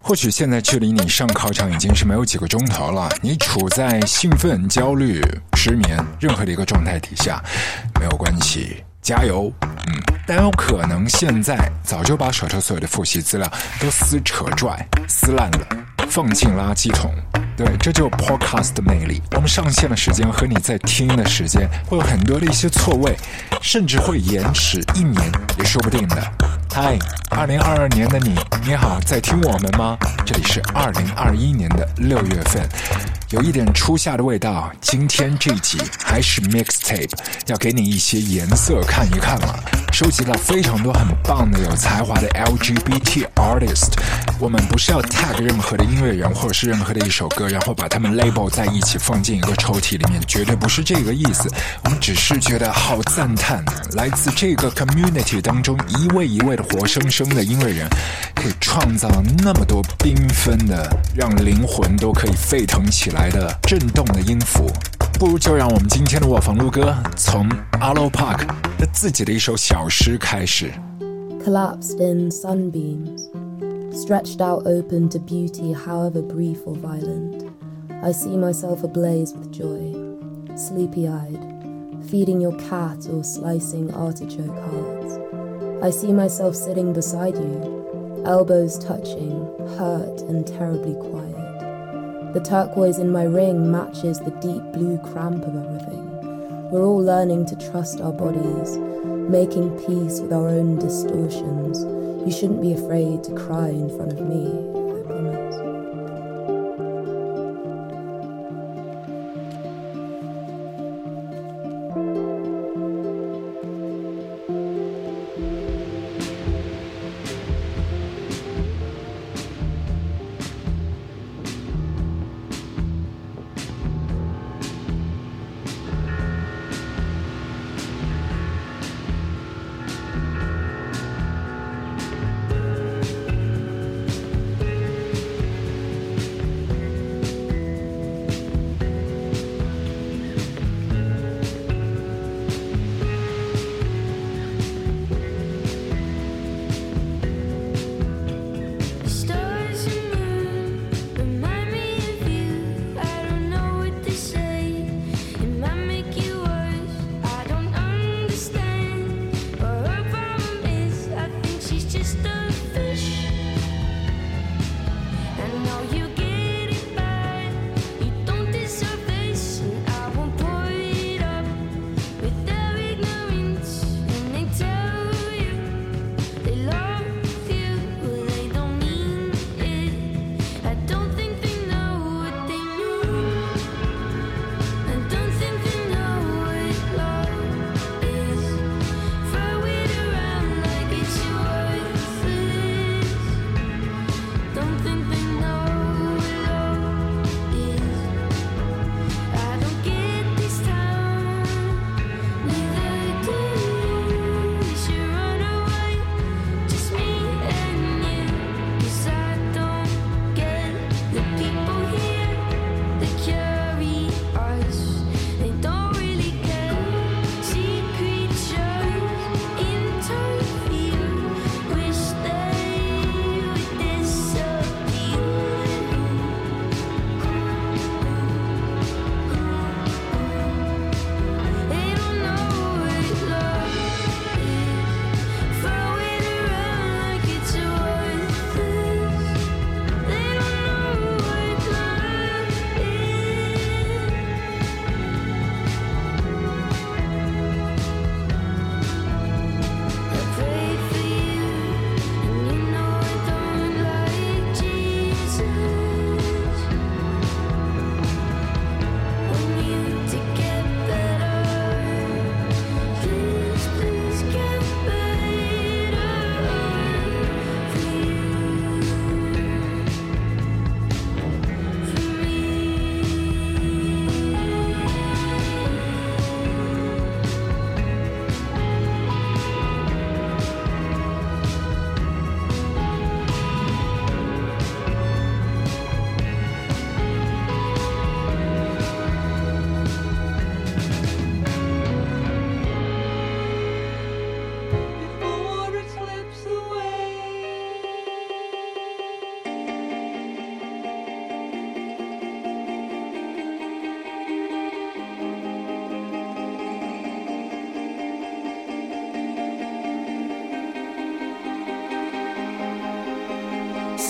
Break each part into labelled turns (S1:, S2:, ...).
S1: 或许现在距离你上考场已经是没有几个钟头了，你处在兴奋、焦虑、失眠任何的一个状态底下，没有关系，加油。但有可能现在早就把手头所有的复习资料都撕扯拽、撕烂了，放进垃圾桶。对，这就是 podcast 的魅力。我们上线的时间和你在听的时间会有很多的一些错位，甚至会延迟1年也说不定的。嗨，2022年的你好，在听我们吗？这里是2021年的6月份，有一点初夏的味道。今天这一集还是 mixtape， 要给你一些颜色看一看了。收集了非常多很棒的有才华的 LGBT artist。我们不是要 tag 任何的音乐人或者是任何的一首歌，然后把他们 label 在一起放进一个抽屉里面，绝对不是这个意思。我们只是觉得好赞叹，来自这个 community 当中一位一位的活生生的音乐人，可以创造那么多缤纷的让灵魂都可以沸腾起来的震动的音符。不如就让我们今天的卧房录歌从 Arlo Park 的自己的一首小诗开始。
S2: Collapsed in sunbeams, stretched out open to beauty however brief or violent, I see myself ablaze with joy, sleepy-eyed, feeding your cat or slicing artichoke hearts. I see myself sitting beside you, elbows touching, hurt and terribly quiet.The turquoise in my ring matches the deep blue cramp of everything. We're all learning to trust our bodies, making peace with our own distortions. You shouldn't be afraid to cry in front of me, I promise.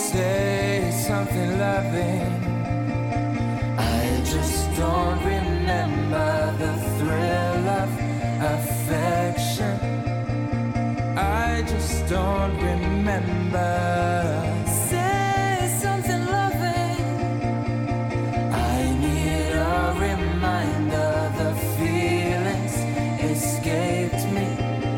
S3: say something loving. I just don't remember the thrill of affection. I just don't remember. Say something loving. I need a reminder. The feelings escaped me.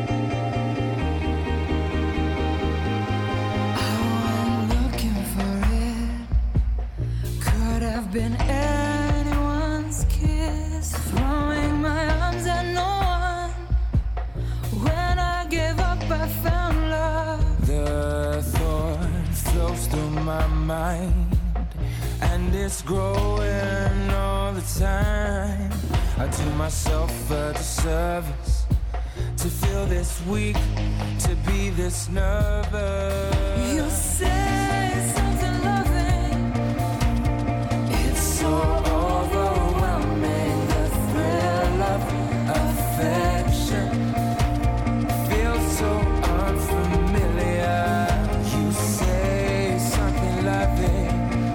S3: Been anyone's kiss, throwing my arms at no one. When I gave up, I found love. The thought flows through my mind, and it's growing all the time. I do myself a disservice to feel this weak, to be this nervous. You say something loving. So overwhelming, the thrill of affection feels so unfamiliar. You say something loving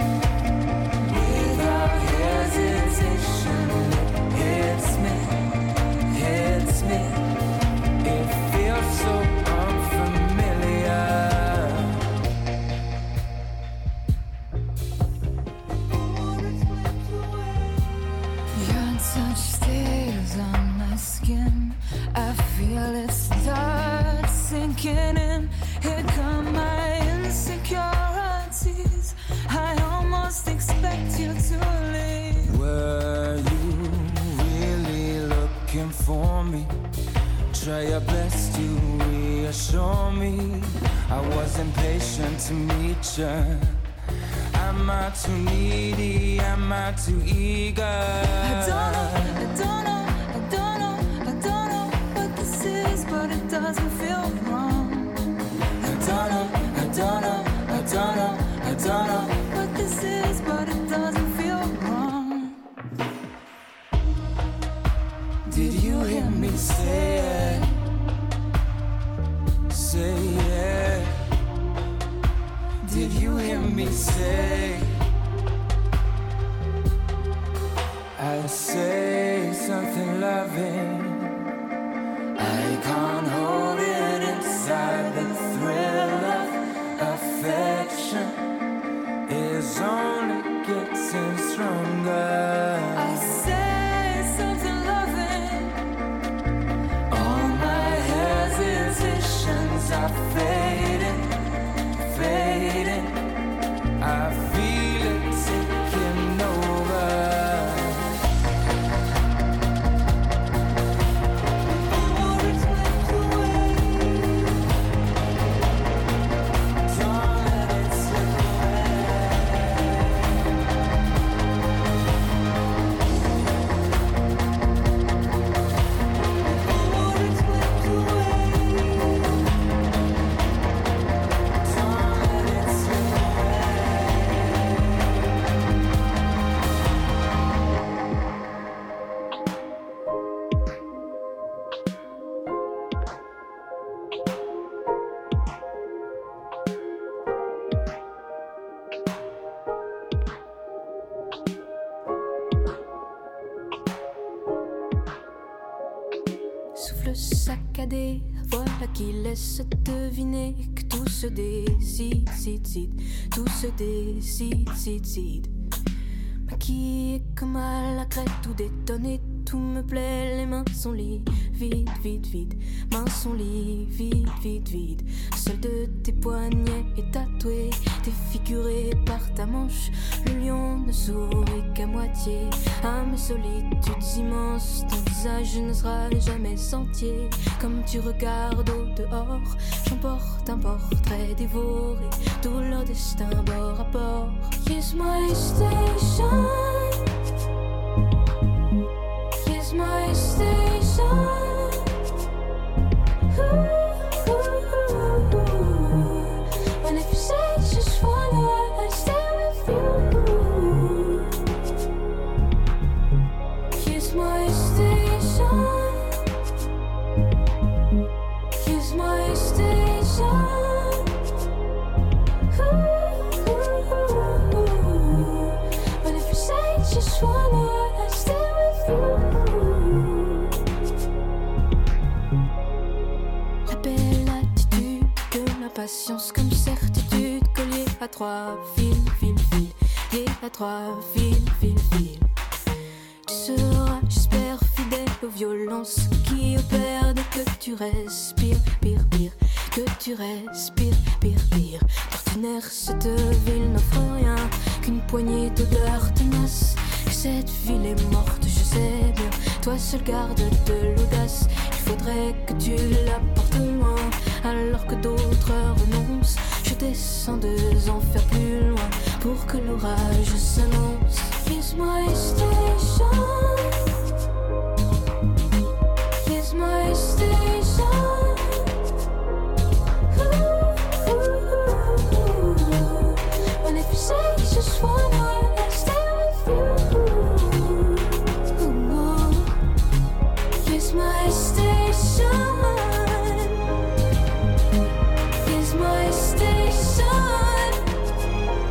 S3: without hesitation. It hits me. It feels so unfamiliar. I feel it start sinking in. Here come my insecurities. I almost expect you to leave. Were you really looking for me? Try your best to reassure me. I was impatient to meet you. Am I too needy? Am I too eager? I don't know. But it doesn't feel wrong. I don't know what this is, but it doesn't feel wrong. Did you hear me say it? Say it. Did you hear me say? I say something loving. I can't hold it inside. The thrill of affection is only getting stronger. I say something loving. All my hesitations are fading. I feel it taking over.
S4: Souffle saccadé, voilà qui laisse deviner que tout se décide, tout se décide. Maquillé comme à la crête, tout détonné, tout me plaît, les mains sont liées, vide, mains sont liées, vide. Seul de tes poignets est tatoué, défiguré par ta manche. Le lion ne sourit qu'à moitié à mes solitudes immenses. Ton visage ne sera jamais entier. Comme tu regardes au dehors, j'emporte un portrait dévoré, tout leur destin bord à bord. Kiss my station, kiss my station. And if you say just wanna stay with you, kiss my station, kiss my station. trois fils, liés à trois fils. Tu seras, j'espère, fidèle aux violences qui opèrent dès que tu respires, pire, que tu respires, pire. D'ordinaire, cette ville n'offre rien qu'une poignée d'odeurs tenaces. Que cette ville est morte, je sais bien. Toi seul garde de l'audace. Il faudrait que tu la portes loin, alors que d'autres renoncent. Je descends 2 enfers plus loin pour que l'orage s'annonce. Here's my station. Here's my station. And if you say you just wanna stay with you, here's my station. Here's my station.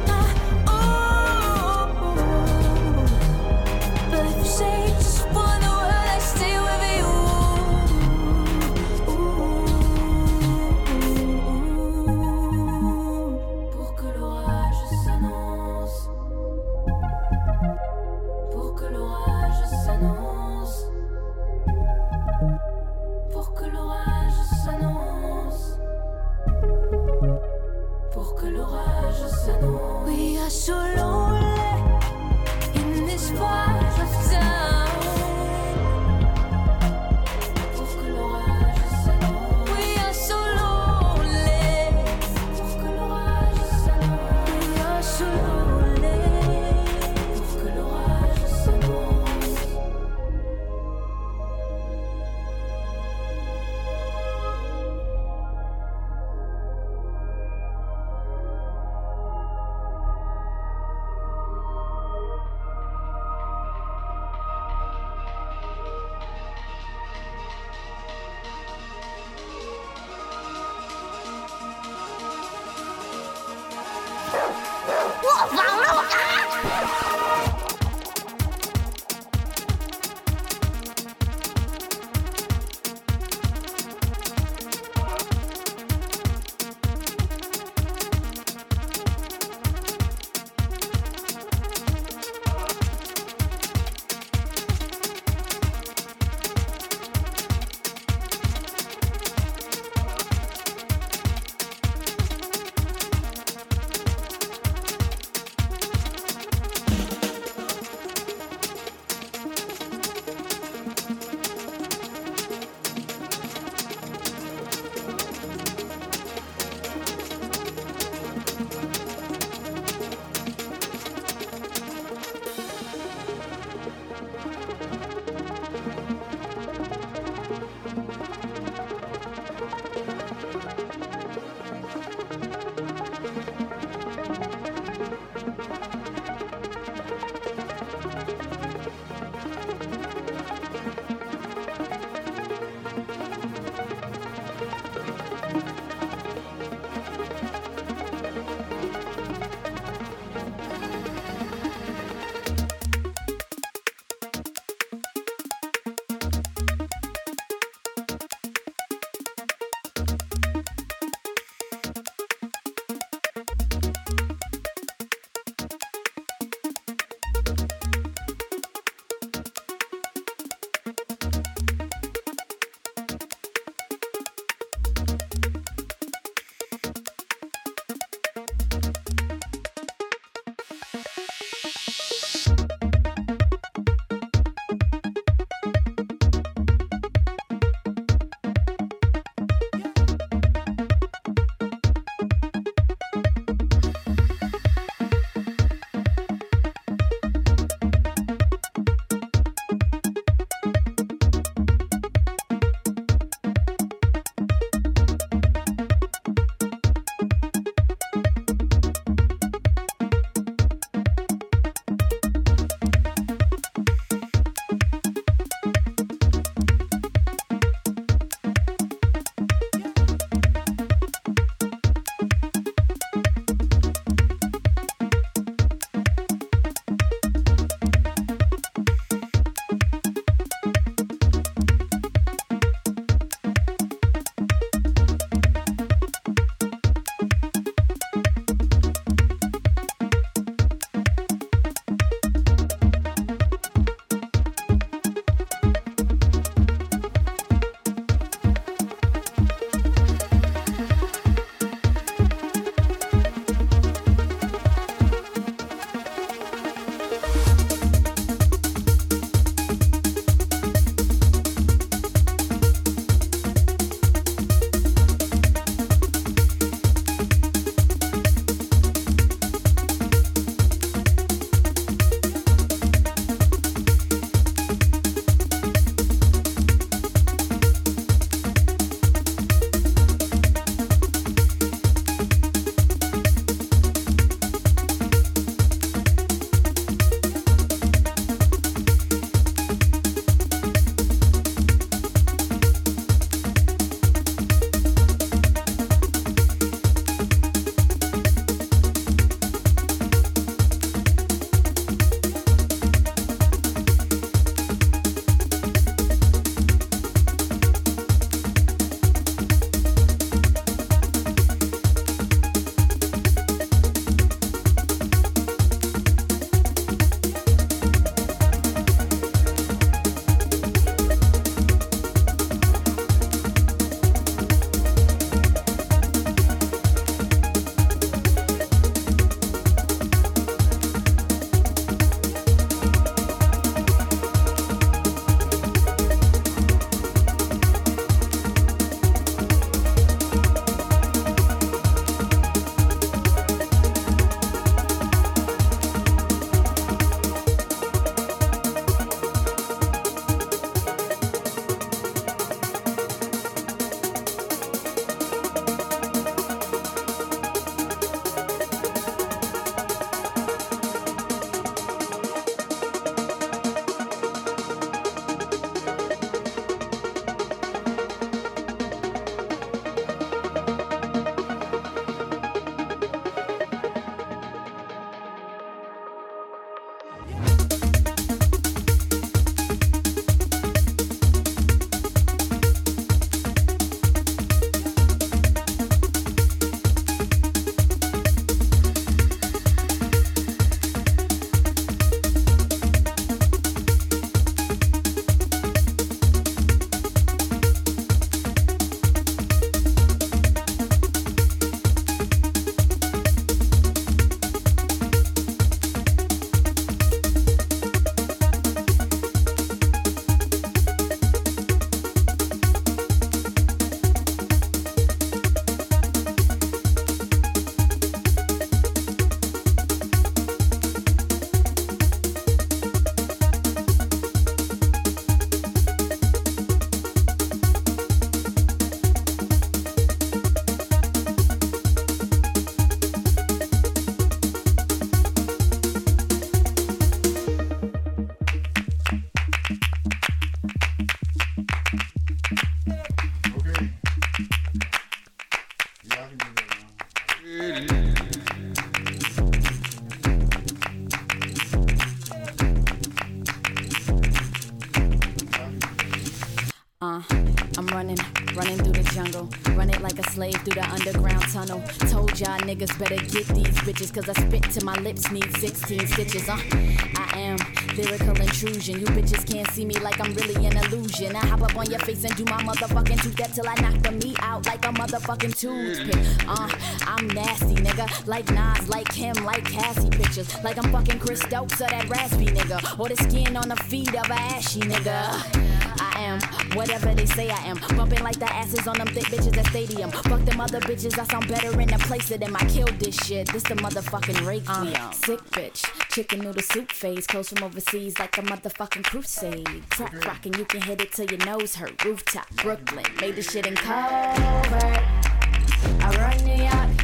S5: slave through the underground tunnel. Told y'all niggas better get these bitches, cause I spit till my lips need 16 stitches. I am lyrical intrusion. You bitches can't see me like I'm really an illusion. I hop up on your face and do my motherfucking two-step till I knock the meat out like a motherfucking toothpick. I'm nasty, nigga. Like Nas, like him, like Cassie pictures. Like I'm fucking Chris Stokes or that raspy nigga. Or the skin on the feet of a ashy nigga. I am whatever they say I am. Bumping like the asses on them thick bitches at stadium. Fuck them other bitches, I sound better in the place of them. I killed this shit, this the motherfucking Requiem. Sick bitch, chicken noodle soup phase. Close from overseas like a motherfucking crusade. Crack rockin', you can hit it till your nose hurt. Rooftop, Brooklyn, made this shit in covert. I run New York.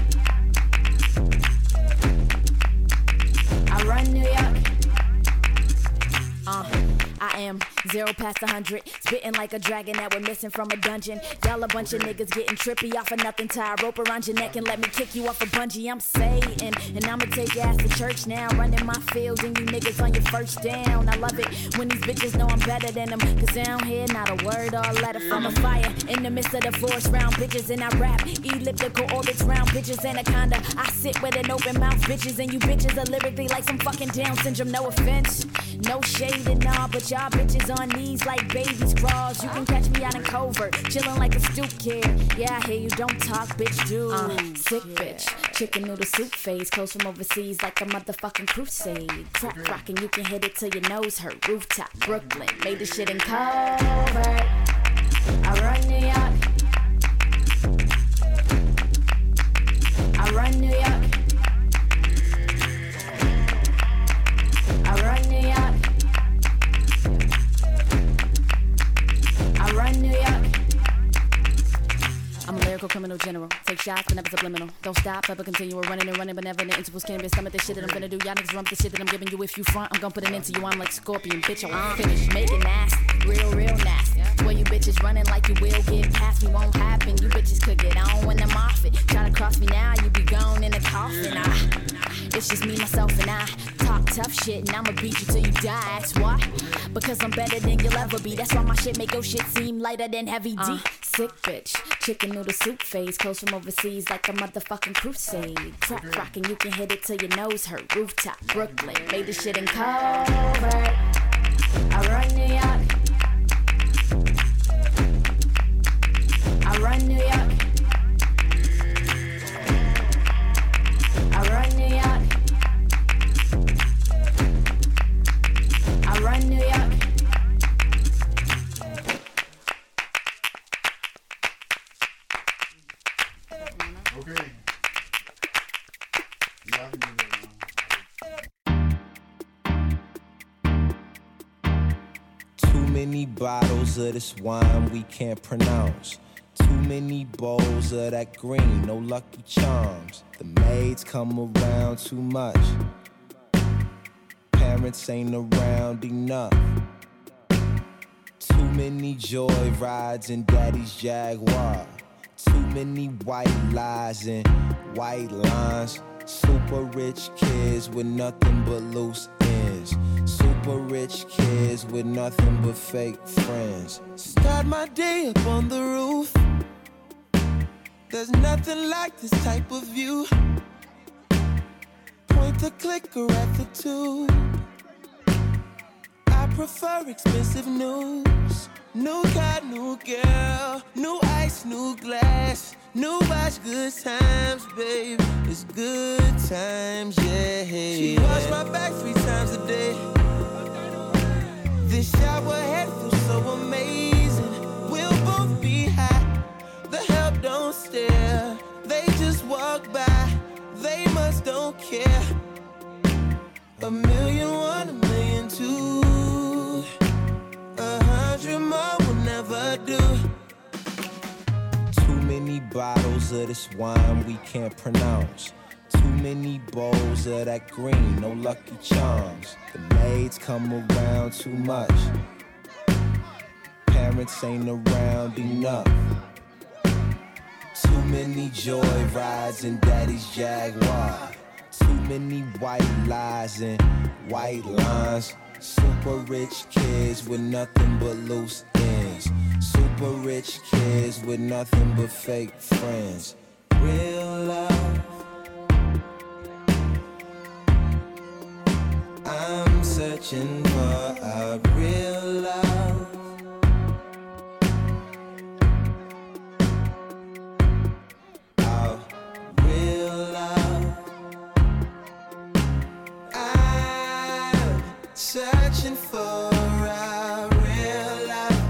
S5: I run New York. I am 0 past 100, spitting like a dragon that we're missing from a dungeon. Y'all a bunch of niggas getting trippy off of nothing. Tie a rope around your neck and let me kick you off a bungee. I'm Satan, and I'ma take your ass to church now. Running my field and you niggas on your first down. I love it when these bitches know I'm better than them, cause I don't hear not a word or a letter from a fire. In the midst of the forest round bitches and I rap elliptical orbits round bitches anaconda. I sit with an open mouth bitches and you bitches are lyrically like some fucking Down syndrome. No offense, no shade and all, but y'all bitches on knees like babies crawls. You can catch me out in covert, chillin' like a stoop kid. Yeah, I hear you, don't talk, bitch, do. Sick bitch, chicken noodle soup phase. Close from overseas like a motherfucking crusade. Crack rockin', you can hit it till your nose hurt. Rooftop, Brooklyn, made this shit in covert. I run New York. I run New York. I run New York. I run New York. I'm a lyrical criminal general. Take shots, but never subliminal. Don't stop, ever continue. We're running and running, but never in the intervals. Can't be stomach the shit that I'm gonna do. Y'all niggas rump the shit that I'm giving you. If you front, I'm gonna put an end to you. I'm like Scorpion, bitch. I won't finish. Make it nasty, real nasty. Where you bitches running like you will get past me, won't happen. You bitches could get on when I'm off it. Try to cross me now, you be gone in the coffin. It's just me, myself, and I. Talk tough shit, and I'ma beat you till you die. That's why. Because I'm better than you'll ever be. That's why my shit make your shit seem lighter than heavy D. Sick bitch, chicken noodle soup phase. Close from overseas like a motherfucking crusade. Crack rockin', you can hit it till your nose hurt. Rooftop, Brooklyn, made this shit in covert. I run New York. I run New York. I run New York. I run New York.
S6: Okay.
S7: Too many bottles of this wine we can't pronounce. Too many bowls of that green, no Lucky Charms. The maids come around too much. Parents ain't around enough. Too many joy rides in daddy's Jaguar. Too many white lies and white lines. Super rich kids with nothing but loose ends. Super rich kids with nothing but fake friends. Start my day up on the roof. There's nothing like this type of view. Point the clicker at the tube. I prefer expensive news. New car, new girl, new ice, new glass, new watch, good times, babe. It's good times, yeah. She wash my back 3 times a day. This shower head feels so amazing. We'll both be high. The help don't stare. They just walk by. They must don't care. 1,000,001, 1,000,002. 100 more will never do. Too many bottles of this wine we can't pronounce. Too many bowls of that green, no Lucky Charms. The maids come around too much. Parents ain't around enough. Too many joy rides in daddy's Jaguar. Too many white lies and white lines. Super rich kids with nothing but loose ends. Super rich kids with nothing but fake friends. Real love. I'm searching for a real love. A real love. I'm searching for a real love.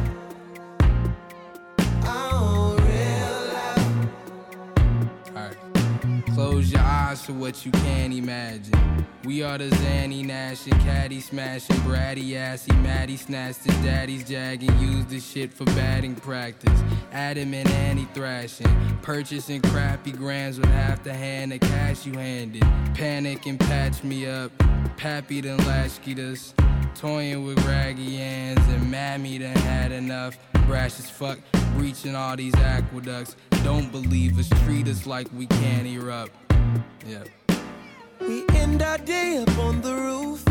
S7: Oh, real love.
S8: Alright. Close your eyes to what you can't imagine. We are the Zanny Nash and Caddy smashing, bratty assy, Maddie snatched his daddy's jagging, used this shit for batting practice. Adam and Annie thrashing, purchasing crappy grams with half the hand of cash you handed. Panic and patch me up, Pappy done latchkeyed us, toying with raggy hands, and Mammy done had enough. Brash as fuck, breaching all these aqueducts. Don't believe us, treat us like we can't erupt. Yeah.
S7: We end our day up on the roof.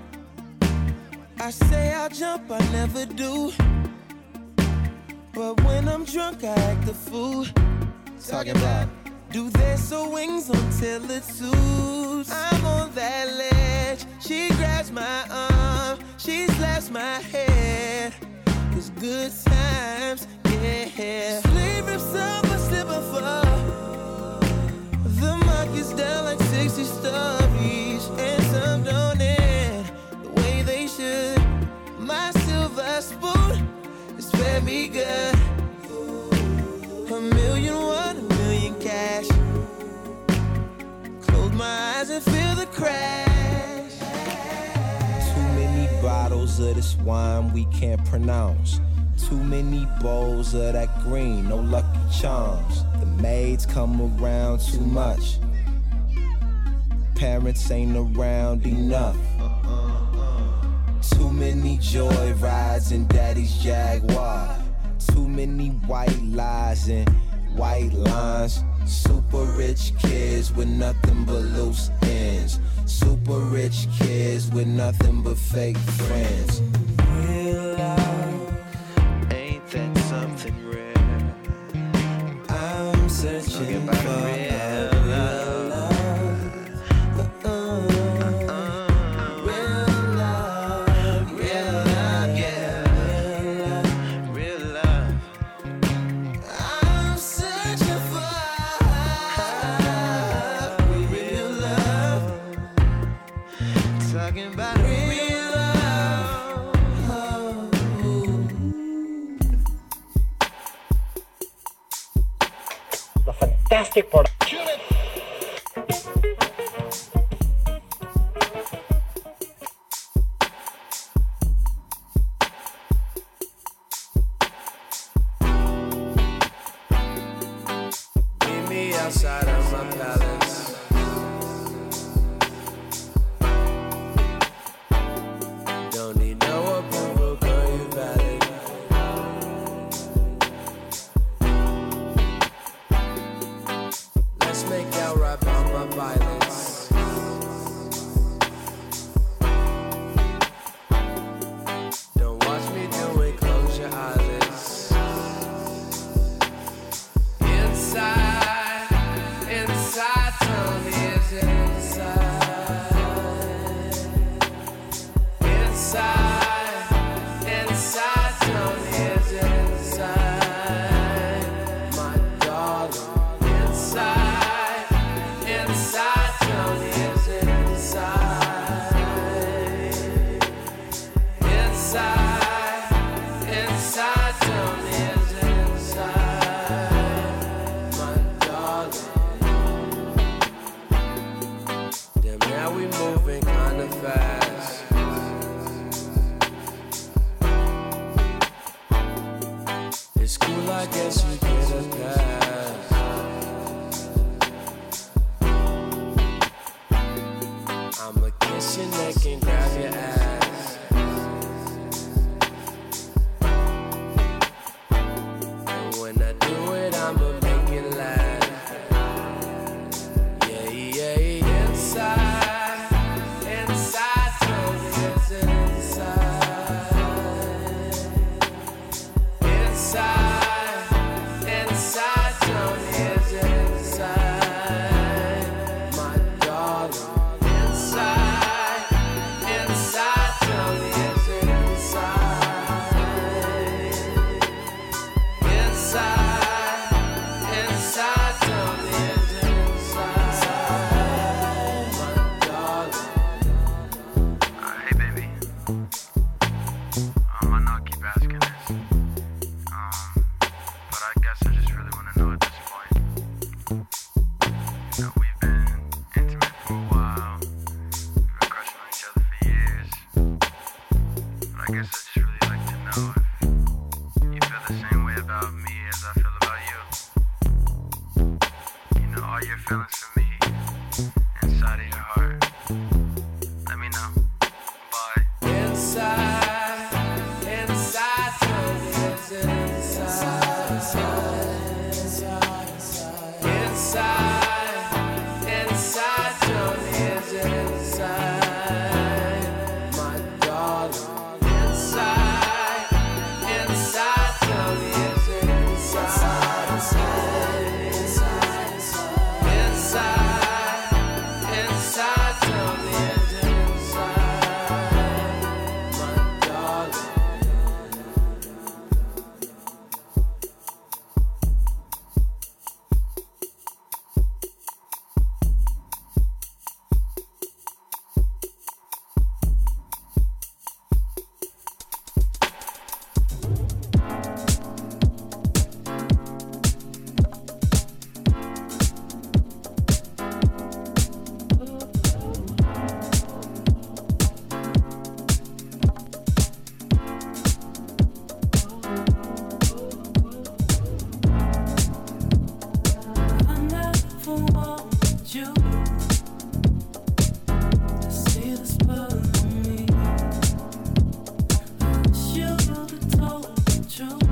S7: I say I'll jump, I never do. But when I'm drunk, I act a fool. Talking about, do they sew wings until it suits? I'm on that ledge. She grabs my arm, she slaps my head. It's good times, yeah. Sleeve rips up, I slip and fall. The market's down like 60 stories, and some don't end the way they should. My silver spoon is fed me good. $1 million, $1 million cash. Close my eyes and feel the crash. Too many bottles of this wine we can't pronounce. Too many bowls of that green, no Lucky Charms. The maids come around too much. Parents ain't around enough. Too many joy rides in daddy's Jaguar. Too many white lies and white lines. Super rich kids with nothing but loose ends. Super rich kids with nothing but fake friends. Real love, ain't that something rare? I'm searching for real love.
S9: Fantastic product.
S3: Meet me outside of my palace. Don't need no approval, girl, you valid. Let's make out right by my violence. Don't watch me do it, close your eyelids. Inside, inside, tell me is it inside? Inside, inside, tell me is it inside? My darling, inside, inside, tell me is it inside? Inside, inside, tell me is it inside? My darling. Damn, now we moving kinda fast. It's cool, I guess you get a pass. I'ma kiss your neck and grab your ass. And when I do it, I'ma make it last. Yeah, yeah, yeah. Inside, inside, tell me is it inside? Inside.
S9: guess I just really like to know if you feel the same way about me as I feel about you. You know, all your feelings for me inside of your heart. Let me know. Bye.
S3: Inside, tell me it's inside. Inside, tell me it's inside. My darling. Inside, tell me it's inside. Inside, tell me it's inside. My darling.
S10: I never want you to see this part of me. I wish you would have told the truth.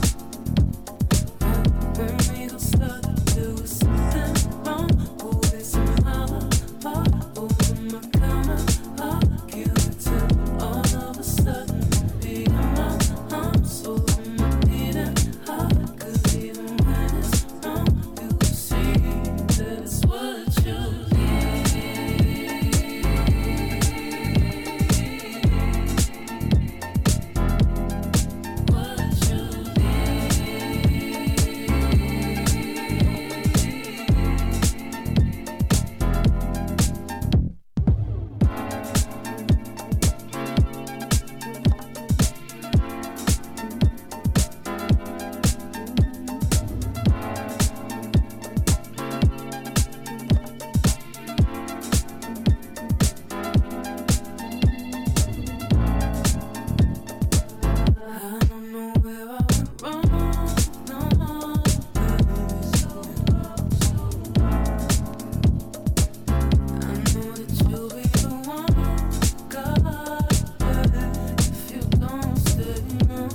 S10: When we got started, there was something wrong. Always somehow apart. Over my counter, arguing till all of a sudden be in my arms, over my beating heart. 'Cause even when it's wrong, you will see that it's what you need. What you I don't know where I went wrong, no, I know that you'll be the one, God, if you don't stay, no,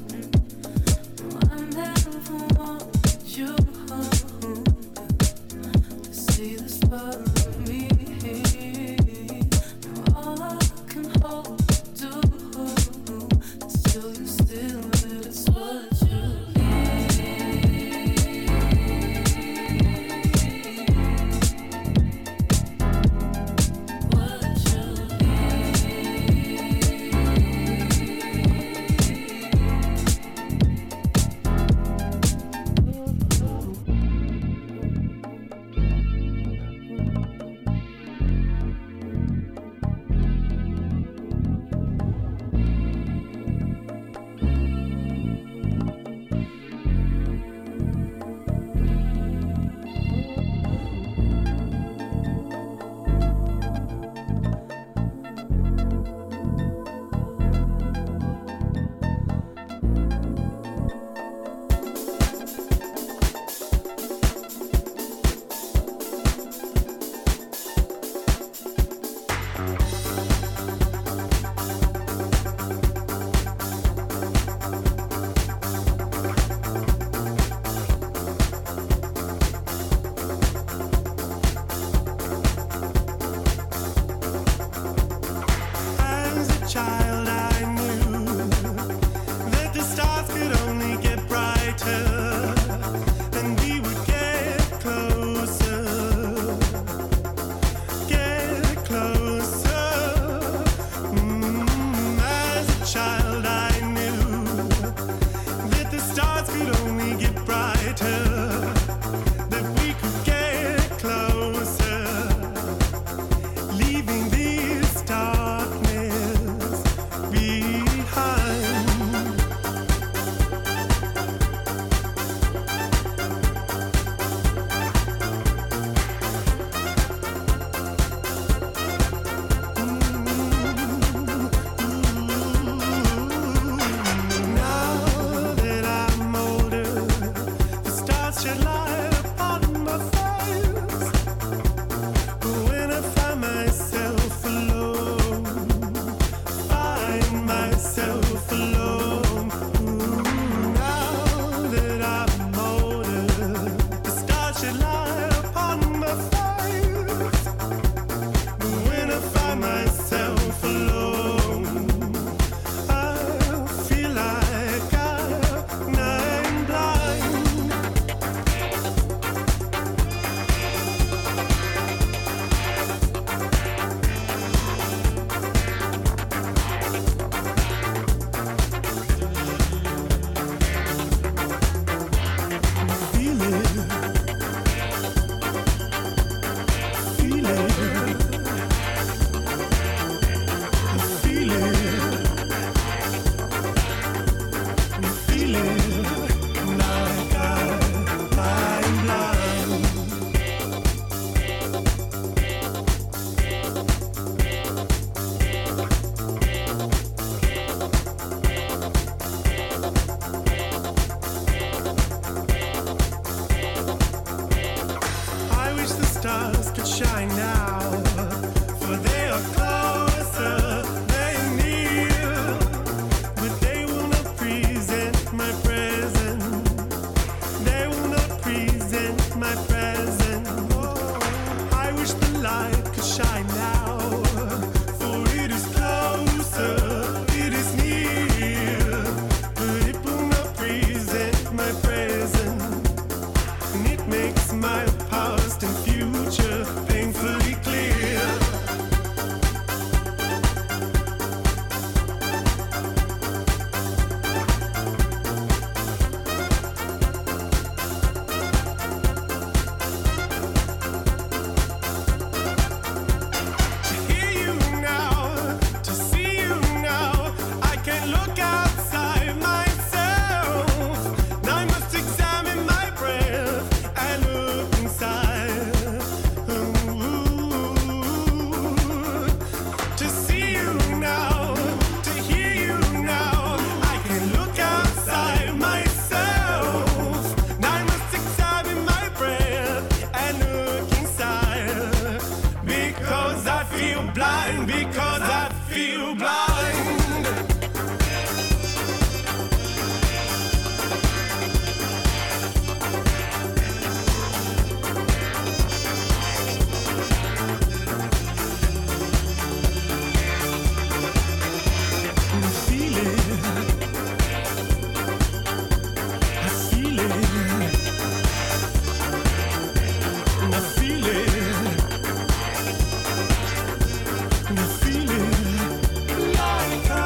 S10: I never want you to see this part of me. All I can hope to do is show you still that it's what you need. What you
S11: As a child, I knew that the stars could only get brighter, and we would get closer, get closer. mind because I feel blind. Like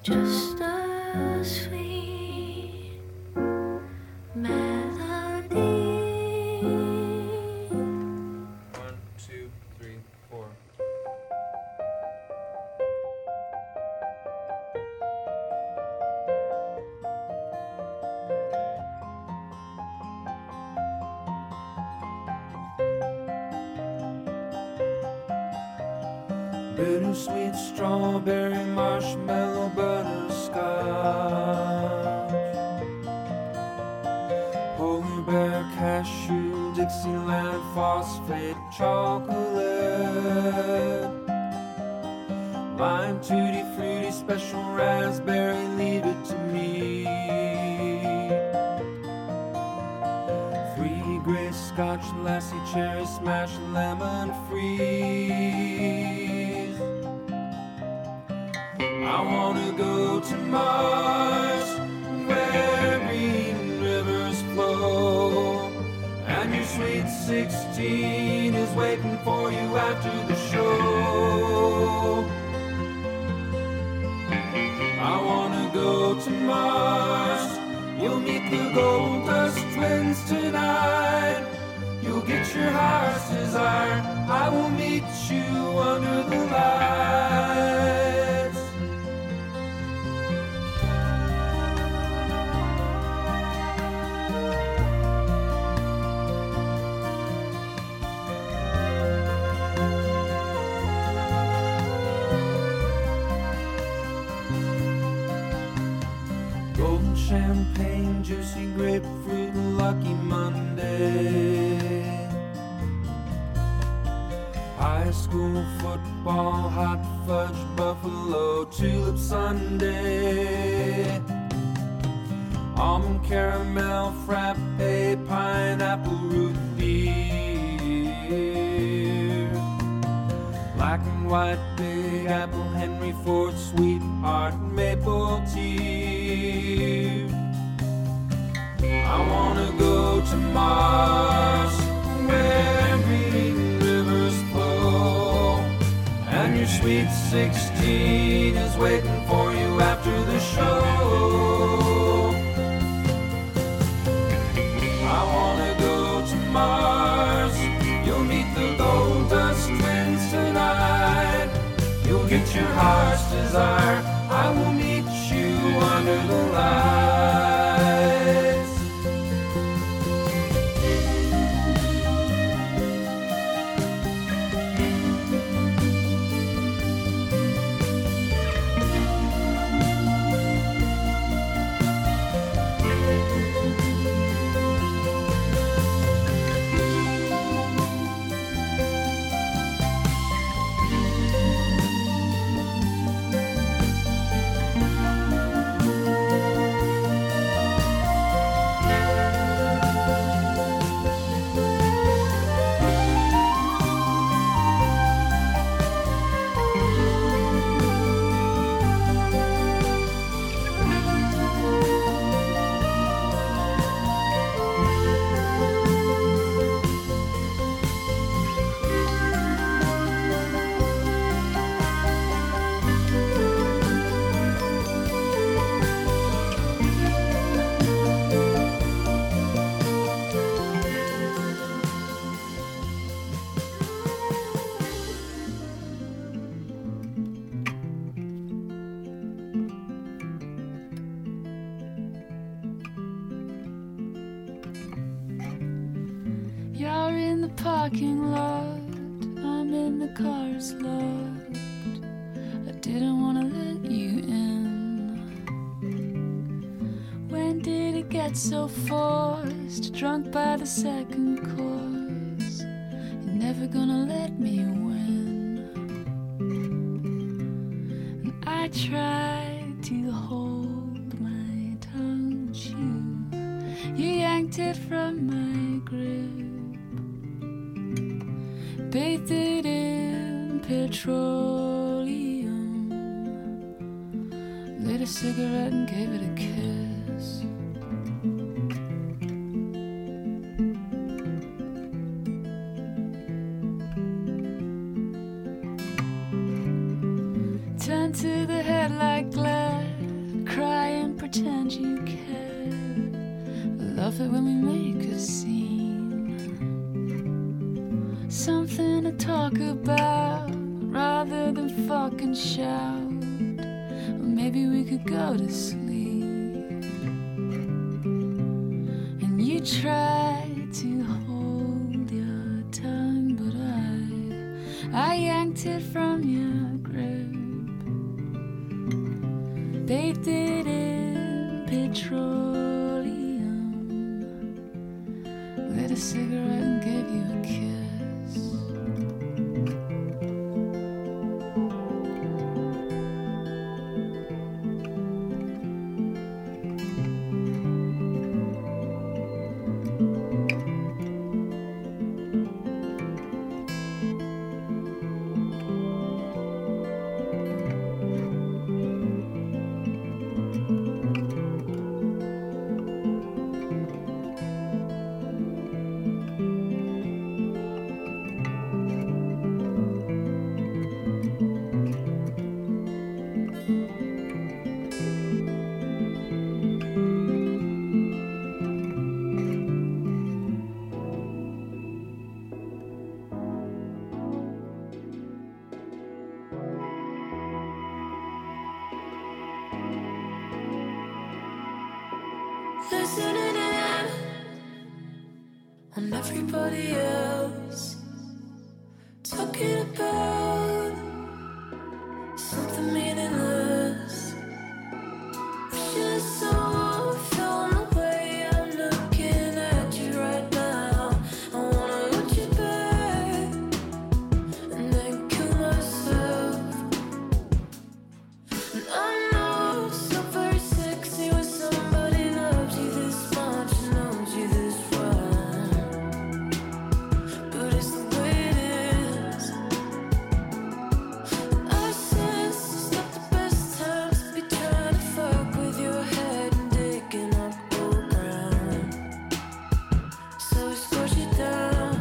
S4: just a sweet melody.
S8: 1, 2, 3, 4.
S3: Bittersweet strawberry marshmallow butterscotch, polar bear cashew Dixieland phosphate chocolate, lime tutti frutti special raspberry, leave it to me. 3 gray scotch lassie cherry smash lemon freeze. I wanna go to Mars, where green rivers flow, and your sweet 16 is waiting for you after the show. I wanna go to Mars, you'll meet the Gold Dust Twins tonight. You'll get your heart's desire, I will meet you under the lights. Golden champagne, juicy grapefruit, lucky Monday. High school football, hot fudge, buffalo, tulip sundae. Almond caramel, frappe, pineapple root beer. Black and white, big apple, Henry Ford, sweetheart, maple tea. I wanna go to Mars, where green rivers flow, and your sweet 16 is waiting for you after the show. I wanna go to Mars, you'll meet the Gold Dust Twins tonight. You'll get your heart's desire, I will meet you under the lights.
S12: You're in the parking lot, I'm in the car's lot. I didn't wanna let you in. When did it get so forced? Drunk by the second course. You're never gonna let me win. And I tried to hold my tongue, but you yanked it from my grip. Bathed it in petroleum, lit a cigarette and gave it a kiss. Turned to the head like glass, Love it when we make a scene, something to talk about rather than fucking shout. Or maybe we could go to sleep. And you try to hold your tongue, but I yanked it from your grip, bathed it in petroleum, lit a cigarette and gave you a kiss.
S10: Listening in on everybody else, talking about something meaningless. Wishing someone felt the way I'm looking at you right now. I wanna hold you back and then kill myself. And I know it's not very sexy when somebody loves you this much and knows you this well, but it's the way it is. And I sense it's not the best time to be trying to fuck with your head and digging up old ground, so I squash you down.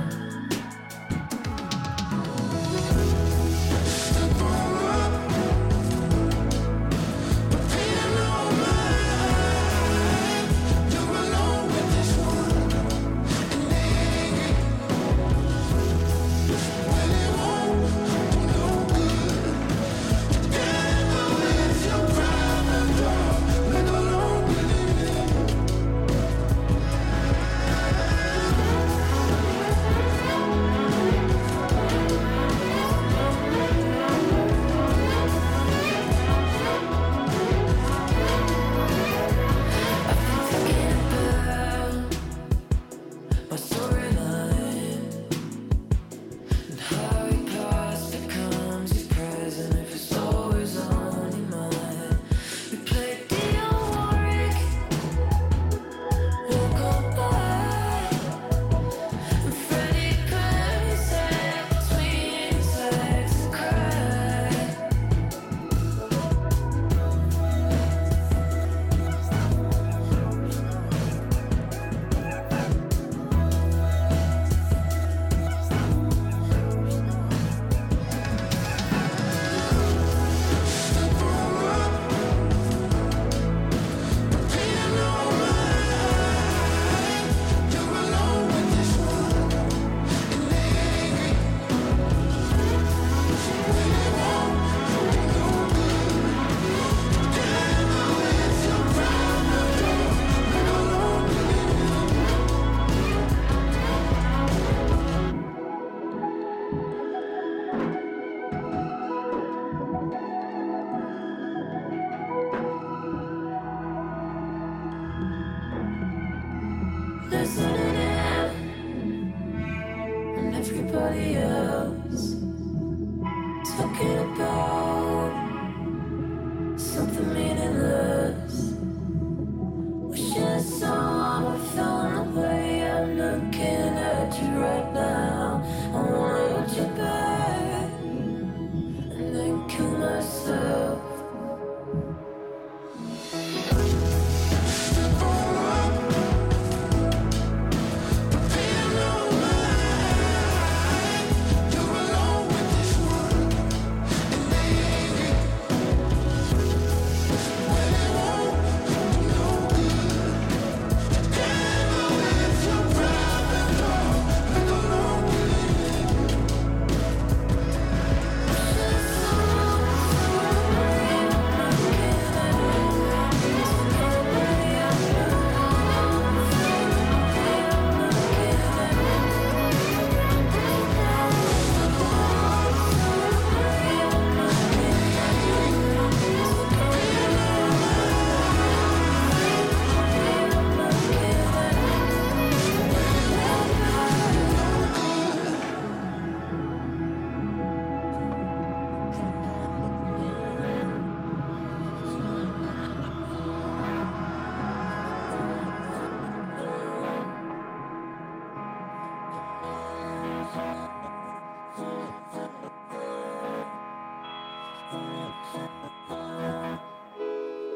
S10: My storyline and how your past becomes your present if it's always on your mind. We played Dionne Warwick, walk on by, and Freddie Perry sat between his legs and cried. Listening in on everybody else, talking about something meaningless. Wishing someone felt the way I'm looking at you right now. I wanna hold you back and then kill myself.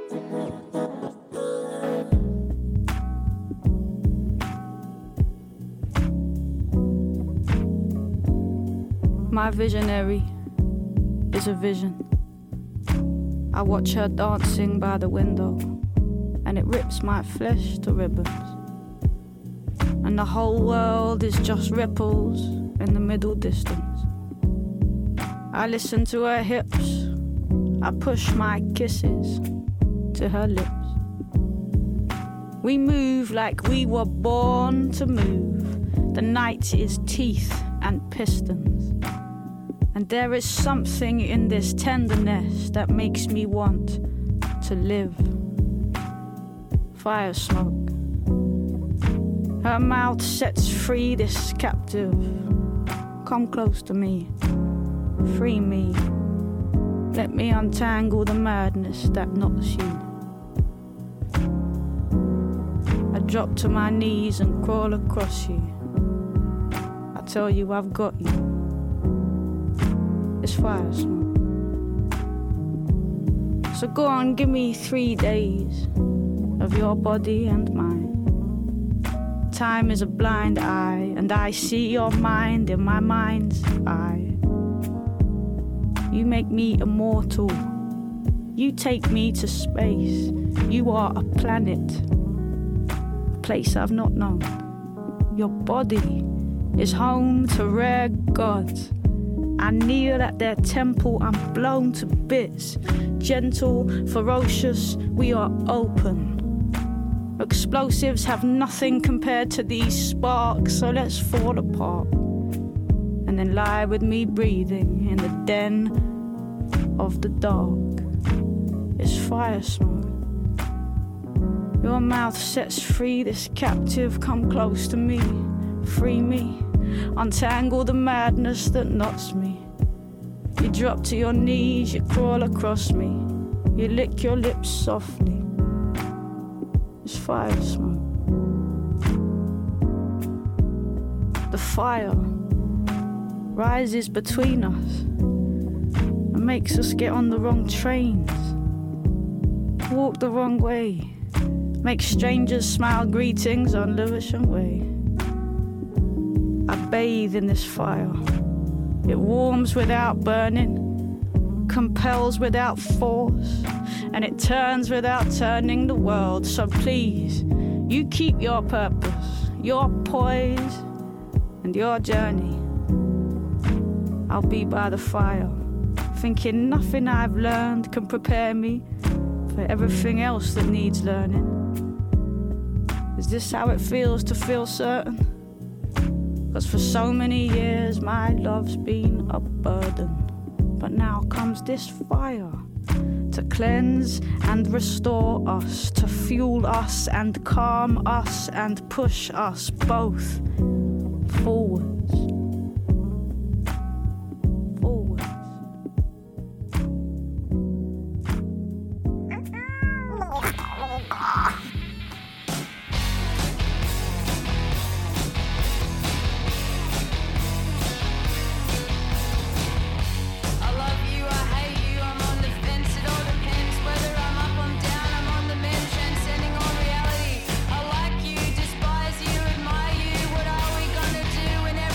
S12: My visionary is a vision. I watch her dancing by the window, and it rips my flesh to ribbons. And the whole world is just ripples in the middle distance. I listen to her hips, I push my kisses to her lips. We move like we were born to move. The night is teeth and pistons. And there is something in this tenderness that makes me want to live. Fire smoke. Her mouth sets free this captive. Come close to me. Free me. Let me untangle the madness that knots you. I drop to my knees and crawl across you. I tell you I've got you. It's fire smoke. So go on, give me 3 days of your body and mine. Time is a blind eye, and I see your mind in my mind's eye. You make me immortal. You take me to space. You are a planet, a place I've not known. Your body is home to rare gods. I kneel at their temple, I'm blown to bits. Gentle, ferocious, we are open. Explosives have nothing compared to these sparks, so let's fall apart. And then lie with me breathing in the den of the dark. It's fire smoke. Your mouth sets free this captive, come close to me, free me. Untangle the madness that knots me. You drop to your knees, you crawl across me. You lick your lips softly. It's fire smoke. The fire rises between us and makes us get on the wrong trains, walk the wrong way, make strangers smile greetings on Lewisham Way. I bathe in this fire. It warms without burning, compels without force, and it turns without turning the world. So please, you keep your purpose, your poise, and your journey. I'll be by the fire, thinking nothing I've learned can prepare me for everything else that needs learning. Is this how it feels to feel certain? 'Cause for so many years my love's been a burden. But now comes this fire to cleanse and restore us, to fuel us and calm us and push us both forwards.
S4: Admire you, what are we gonna do when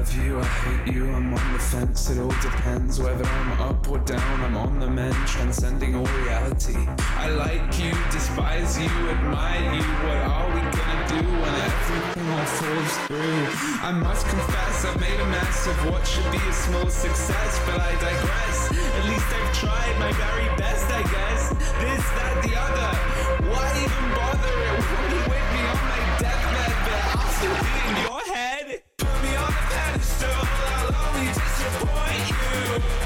S13: love you, I hate you, I'm on the fence. It all depends whether I'm up or down. I'm on the mend, transcending all reality. I like you, despise you, admire you. What are we gonna do when everything all falls through? I must confess, I've made a mess of what should be a small success, but I digress. At least I've tried my very best, I guess. This, that, the other. Why even bother? It won't be with me on my deathbed, but I'll still be in your head. Put me on a pedestal, I'll only disappoint you.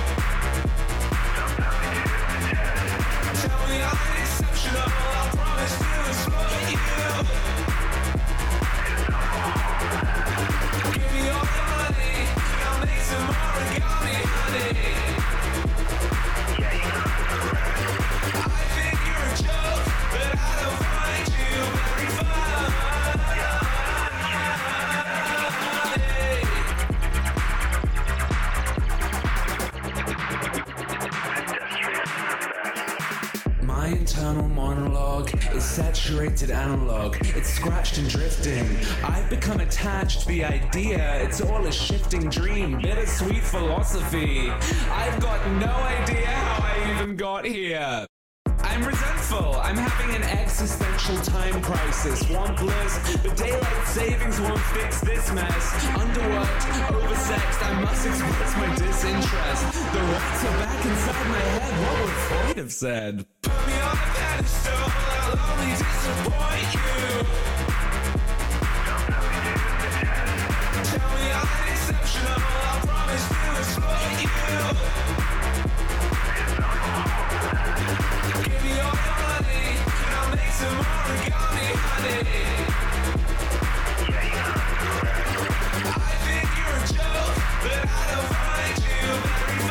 S13: Tell me I'm exceptional, I promise to exploit you. Give me all your money, I'll make some origami, honey. I think you're a joke, but I don't find you very funny. My internal monologue is saturated analog. It's scratched and drifting. I've become attached to the idea. It's all a shifting dream, bittersweet philosophy. I've got no idea how I even got here. I'm resentful. I'm having an existential time crisis. Want bliss, but daylight savings won't fix this mess. Underworked, oversexed, I must express my disinterest. The rats are back inside my head. What would Freud have said? Put me on a pedestal, I'll only disappoint you. Tell me I'm exceptional, I promise to exploit you. Give me all your money, and I'll make some origami, honey. I think you're a joke, but I don't find you very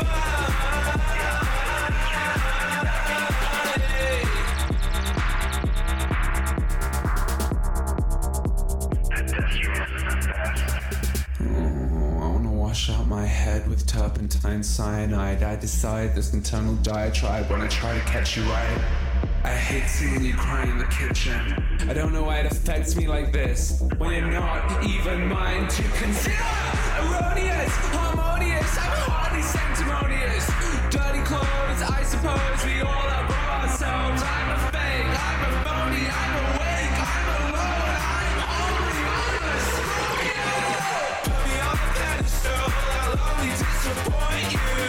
S13: wash out my head with turpentine cyanide. I decide this internal diatribe when I try to catch you right. I hate seeing you cry in the kitchen. I don't know why it affects me like this, when you're not even mine to consider. Erroneous, harmonious, I'm hardly sanctimonious. Dirty clothes, I suppose we all outgrow ourselves. I'm a fake, I'm a phony, I'm awake, I'm alone, I'm only honest. Put me on a pedestal, I'll only disappoint you.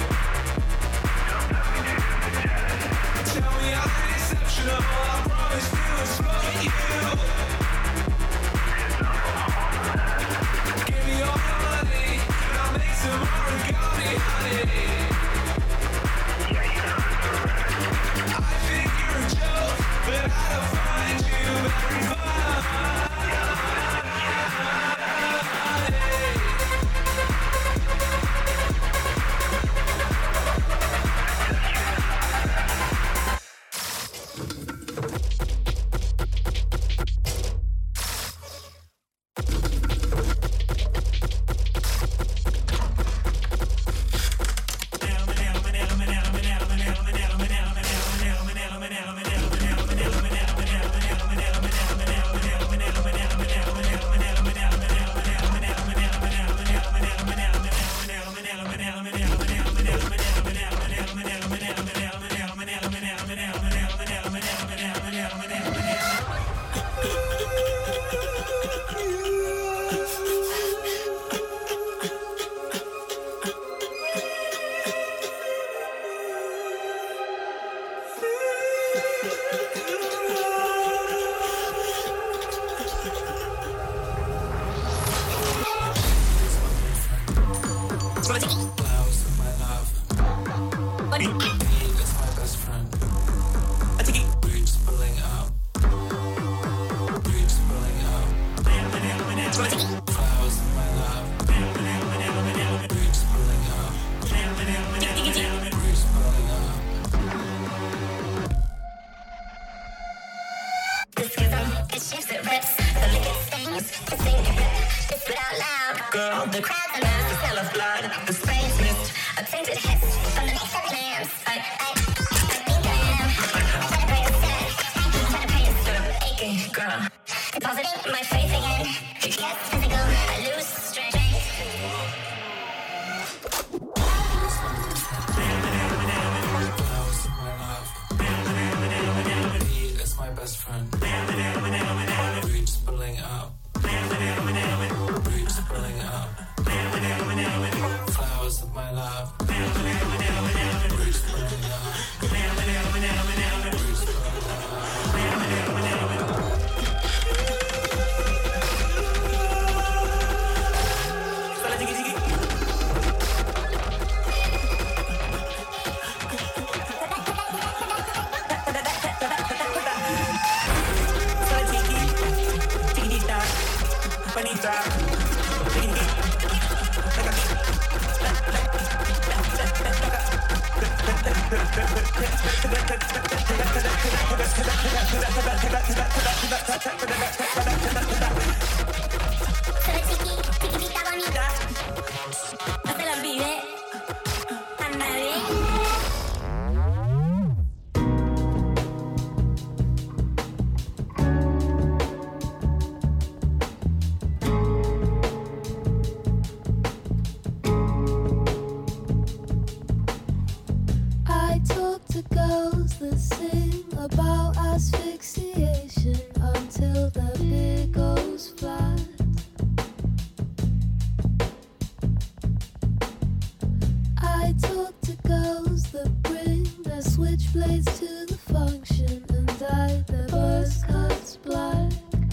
S13: Tell me I'm exceptional, I promise to exploit you. Give me all your money, and I'll make some origami, honey. I think you're a joke, but I don't find you very funny.
S14: Girl, the crowds are loud, the smell of blood, the spray's mist, a tainted hiss from the next of hands.
S2: I talk to girls that sing about asphyxiation until their beer goes flat. I talk to girls that bring their switchblades to the function and dye their buzz cuts black.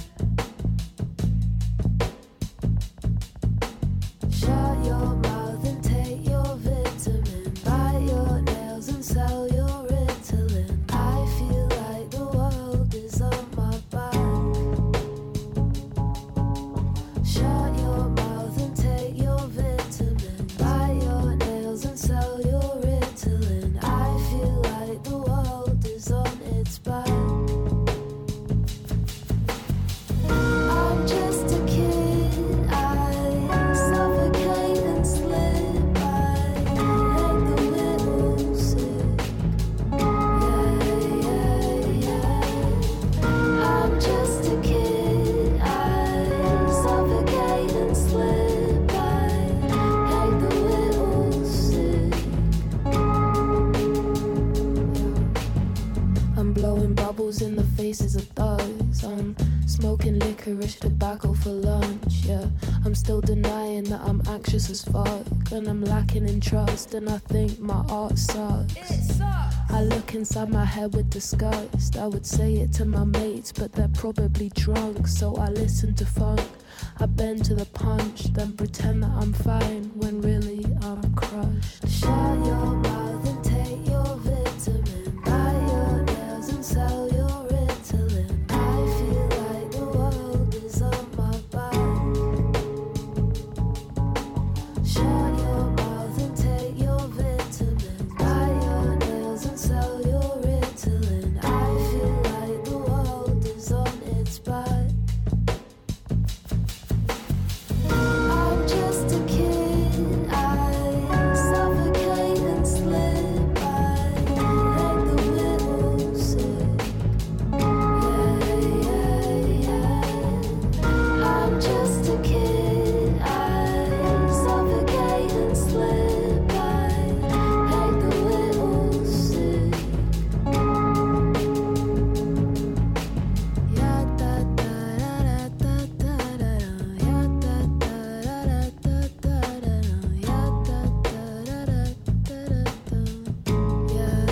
S2: Shut your mouth and take your vitamin. Bite your nails and sell your Ritalin. I feel like the world is on my back. Shut your mouth and take your vitamin. Bite your nails and sell your Ritalin. I feel like the world is on its back. I'm just a kid, I suffocate and slip. I hate the little sick. I'm just a kid, I suffocate and slip. I hate the little sick. I'm blowing bubbles in the faces of thugs. I'm smoking licorice tobacco for lunch, yeah. I'm still denying that I'm anxious as fuck. And I'm lacking in trust and I think my art sucks. I look inside my head with disgust. I would say it to my mates but they're probably drunk. So I listen to funk. I bend to the punch, then pretend that I'm fine when really I'm crushed. Shut your mouth and take your vitamin. Bite your nails and sell your Ritalin. I feel like the world is on my back. Shut your mouth and take your vitamin. Bite your nails and sell your Ritalin. I feel like the world is on its back. I'm just a kid, I suffocate and slip. I hate the little sick. I'm just a kid, I suffocate and slip. I hate the little sick. Ya da da da da da da da. Ya da da da da da da da. Ya da da da da da da. Yeah.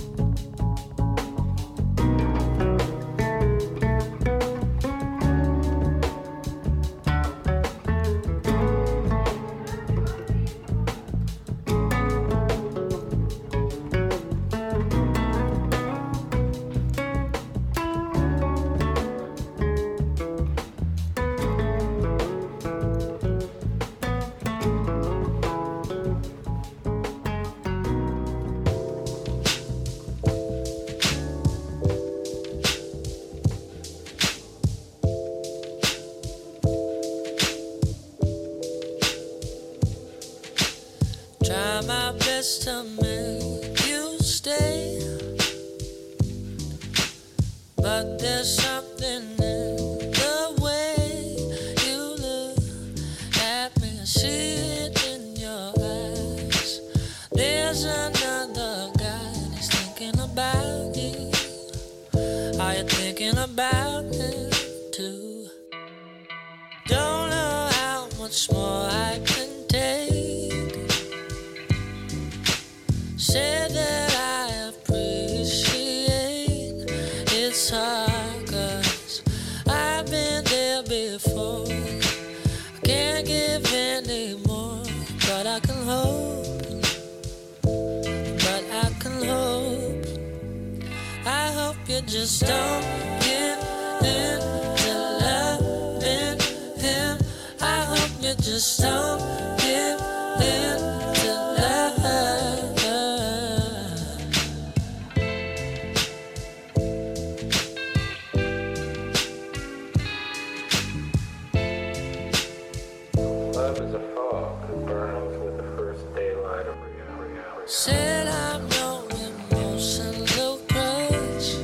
S3: Try my best to make you stay, but there's something in the way you look at me. I see it in your eyes. There's another guy that's thinking about you. Are you thinking about him too? Don't know how much more I can take. Say that I appreciate it's hard 'cause I've been there before. I can't give any more, but I can hope. But I can hope. I hope you just don't give in to loving him. I hope you just don't give in to love. said I'm no emotional crush.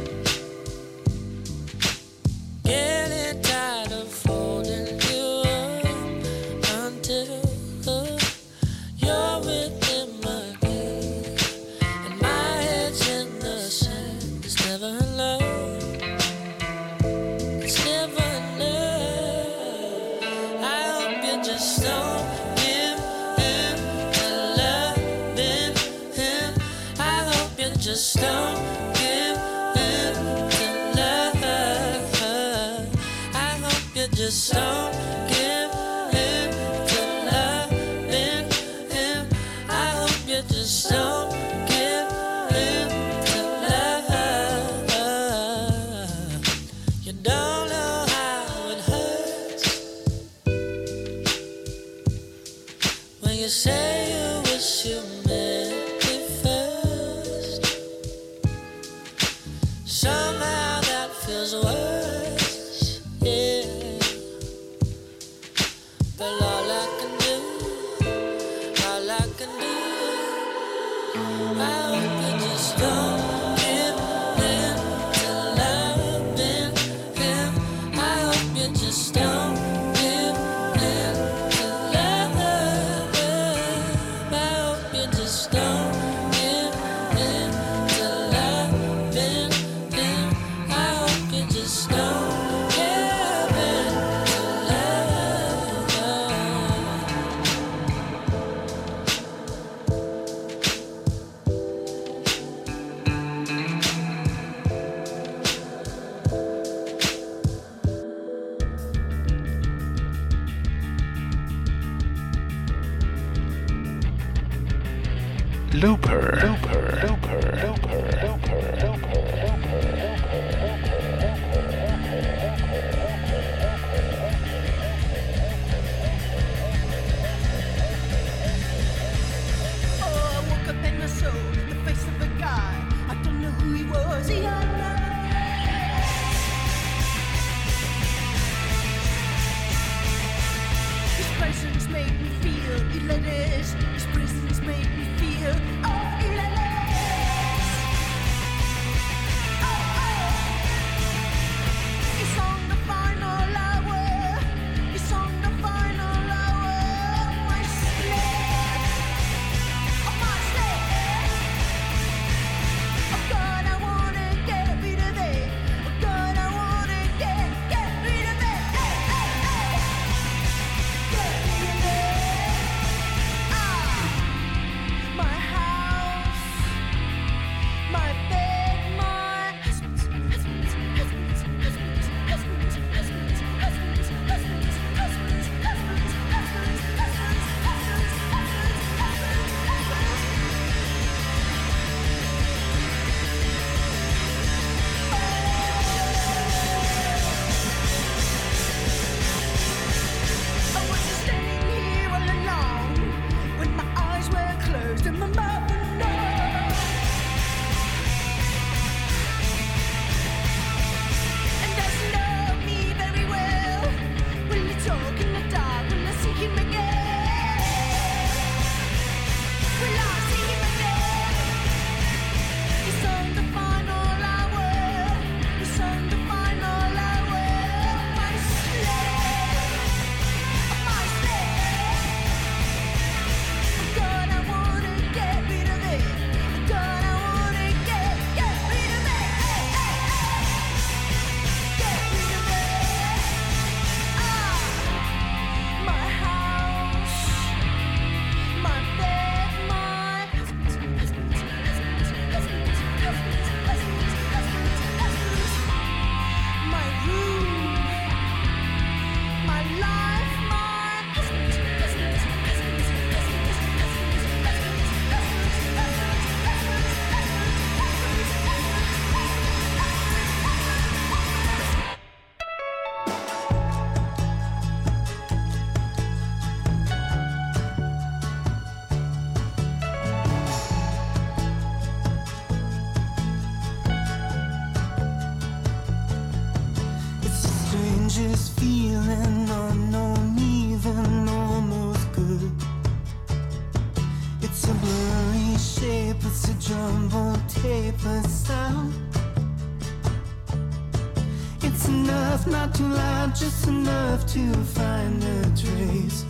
S3: Getting tired of holding you up until you're within my gaze, and my head's in the sand. It's never enough. It's never enough. I hope you just don't give in to loving him. I hope you just don't give in to love. I hope you just don't give in to loving him. I hope you just don't give in to love. You don't know how it hurts when you say you wish you met me first. Somehow that feels worse, yeah. But all I can do, I hope you just don't give in to loving him. I hope you just don't give in to love. I hope you just don't give in to loving him. I hope you just don't give in to love.
S1: Looper.
S10: Oh, I woke up in my soul, the face of a guy. I don't know who he was, he had his presence made me feel hilarious. His presence made me feel, oh, hilarious.
S3: It's a jumbo tape sound. It's enough, not too loud, just enough to find a trace.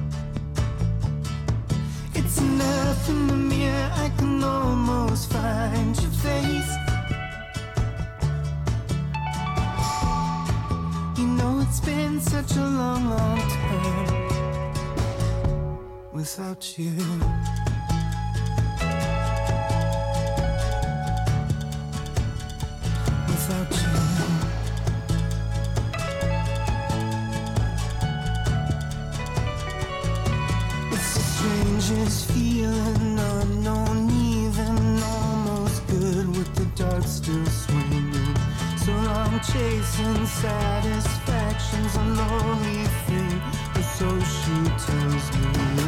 S3: It's enough in the mirror, I can almost find your face. You know it's been such a long, long time without you. Without you. Strangest feeling, unknown, even almost good with the dark still swinging. So I'm chasing satisfaction's a lonely thing, or so she tells me.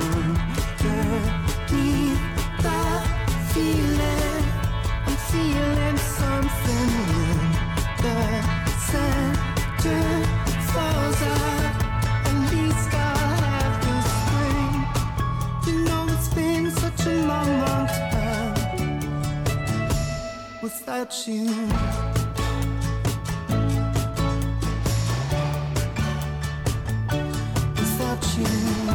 S3: Underneath that feeling, I'm feeling something when the center falls out. At least I'll have the spring. You know it's been such a long, long time without you. Without you.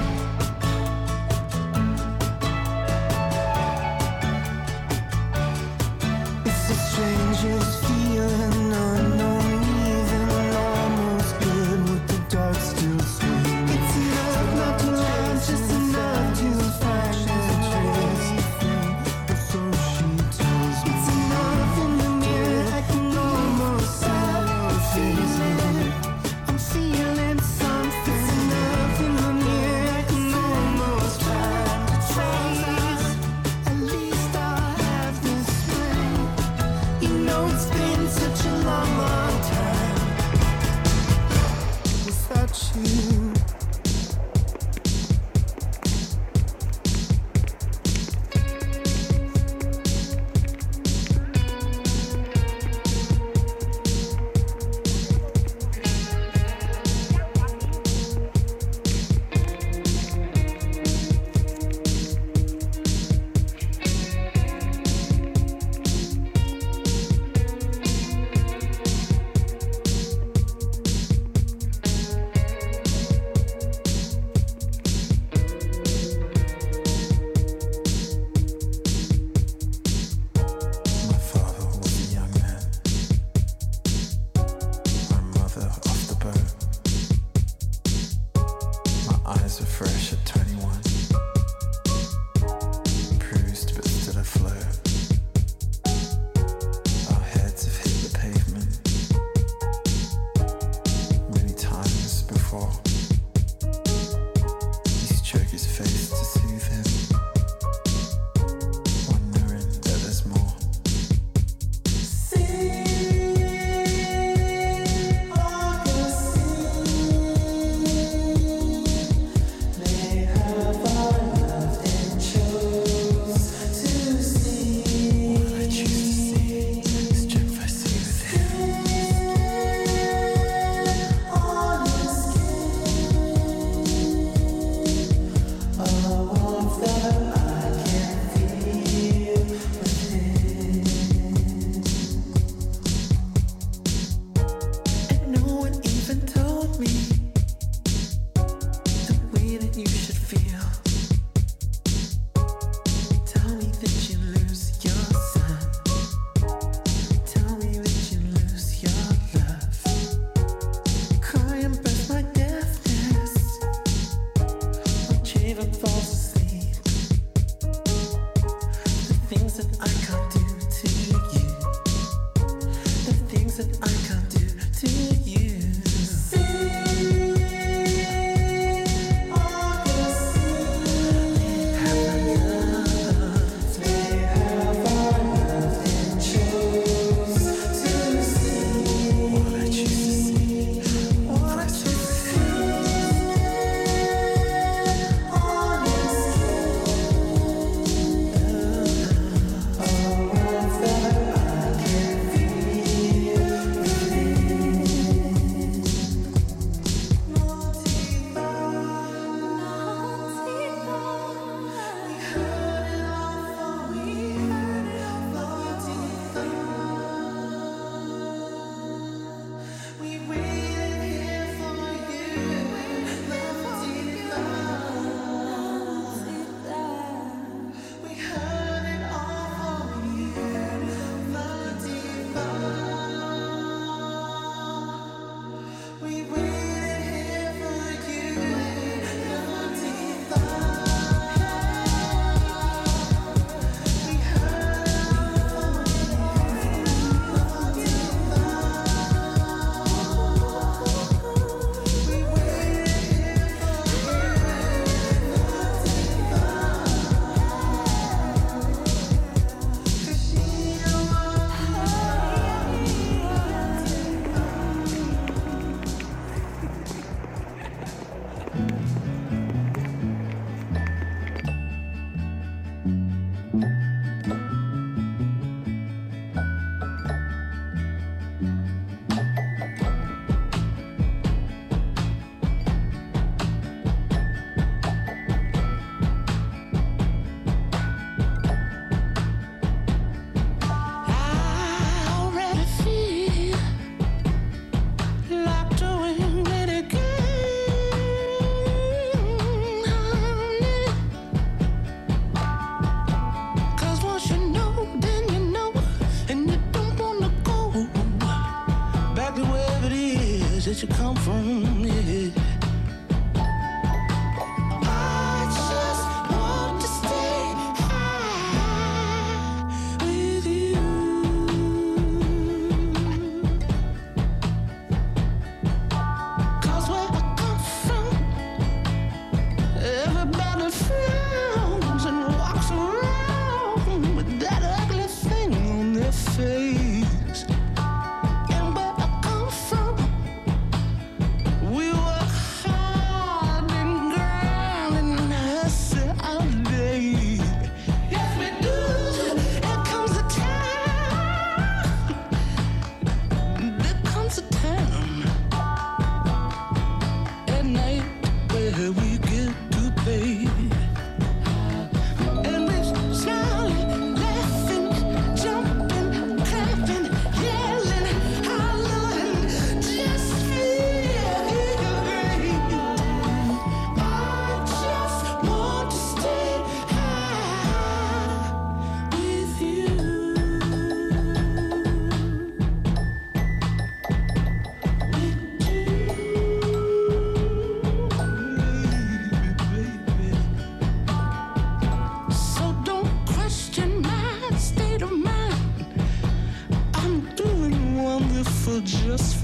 S3: It's the strangest feeling, unknown, even almost good with the dark still swinging. It's enough, not too loud, just enough to find a trace. Or so she tells me. It's enough in the mirror, I can almost see your face. I'm feeling something. It's enough in the mirror, I can almost find a trace. At least I'll have this spring. You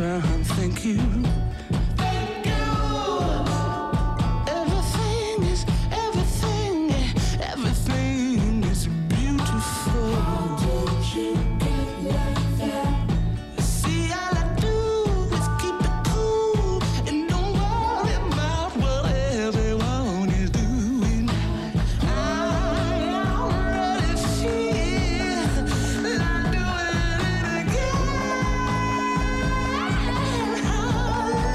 S10: baby, thank you. Thank you. Everything is beautiful. How did you get like that? See, all I do is keep it cool and don't worry about what everyone is doing. I already feel like doing it again.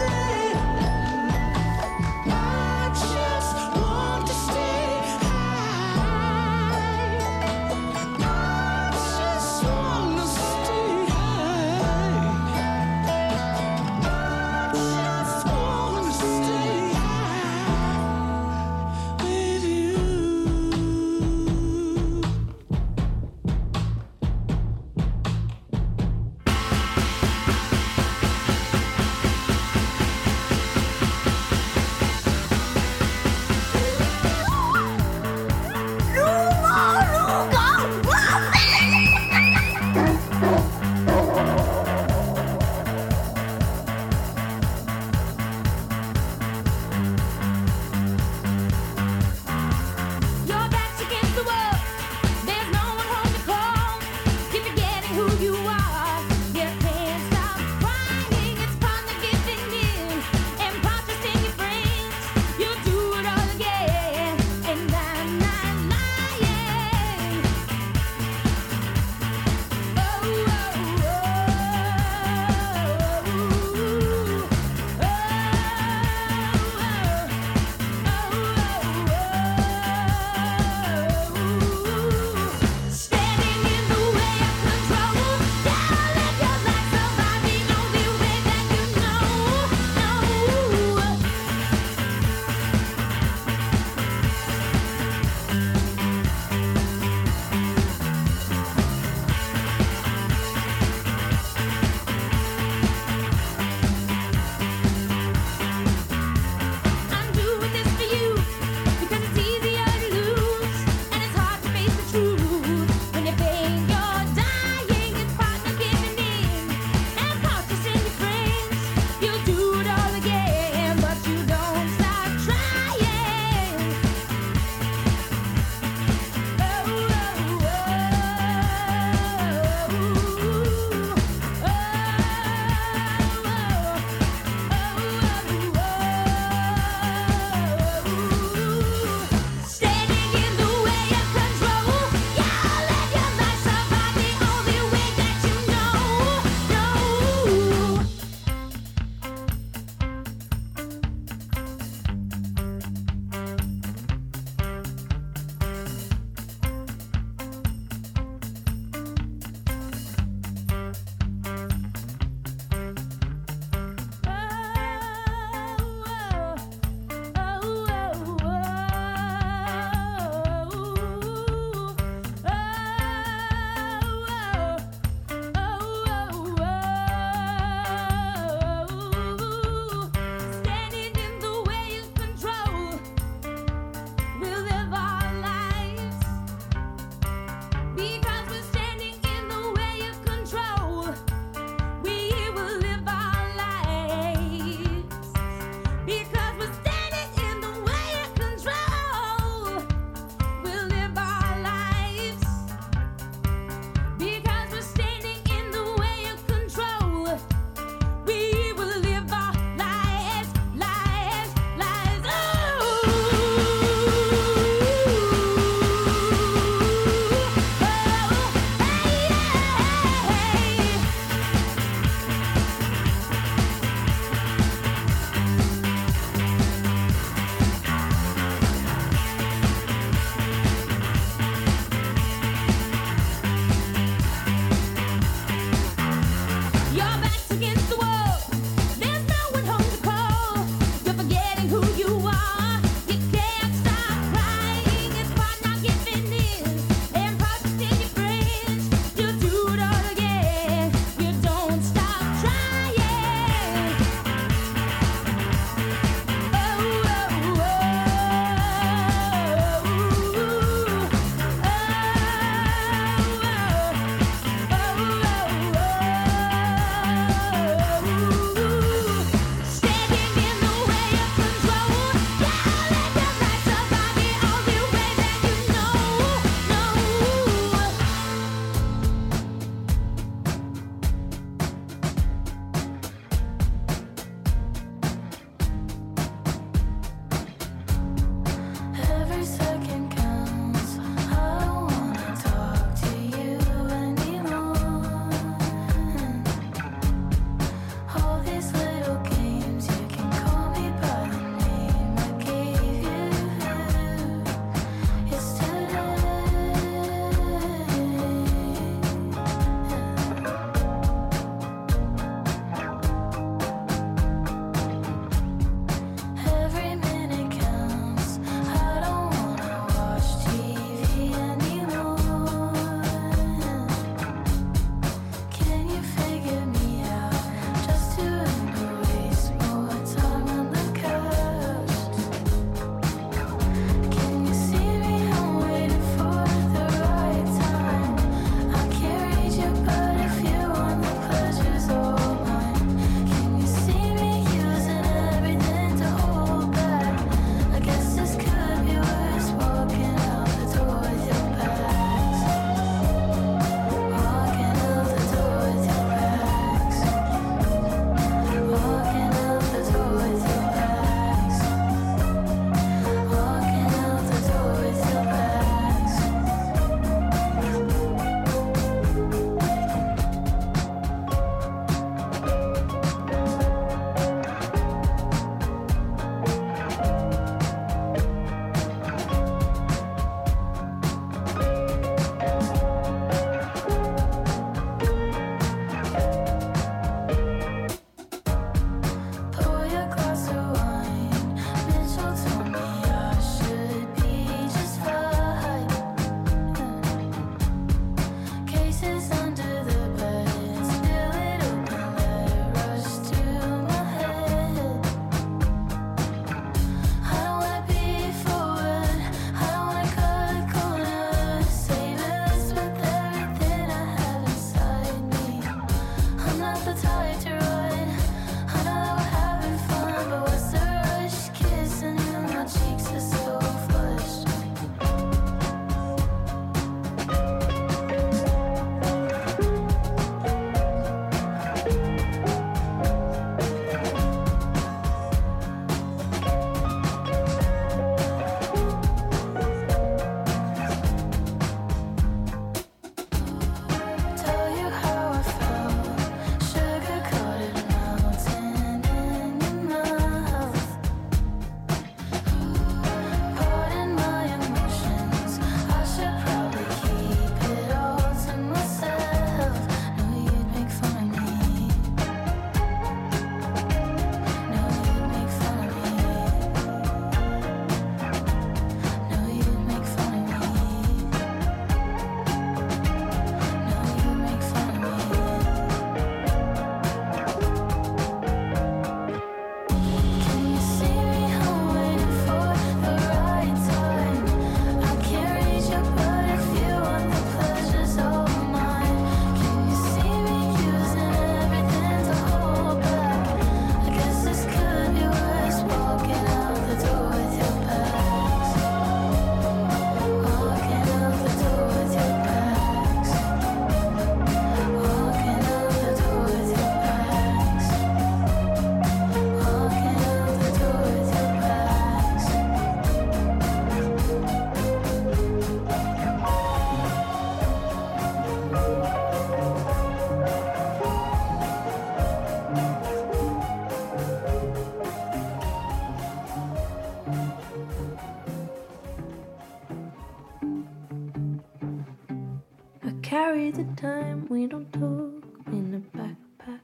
S14: Carry the time, we don't talk in a backpack.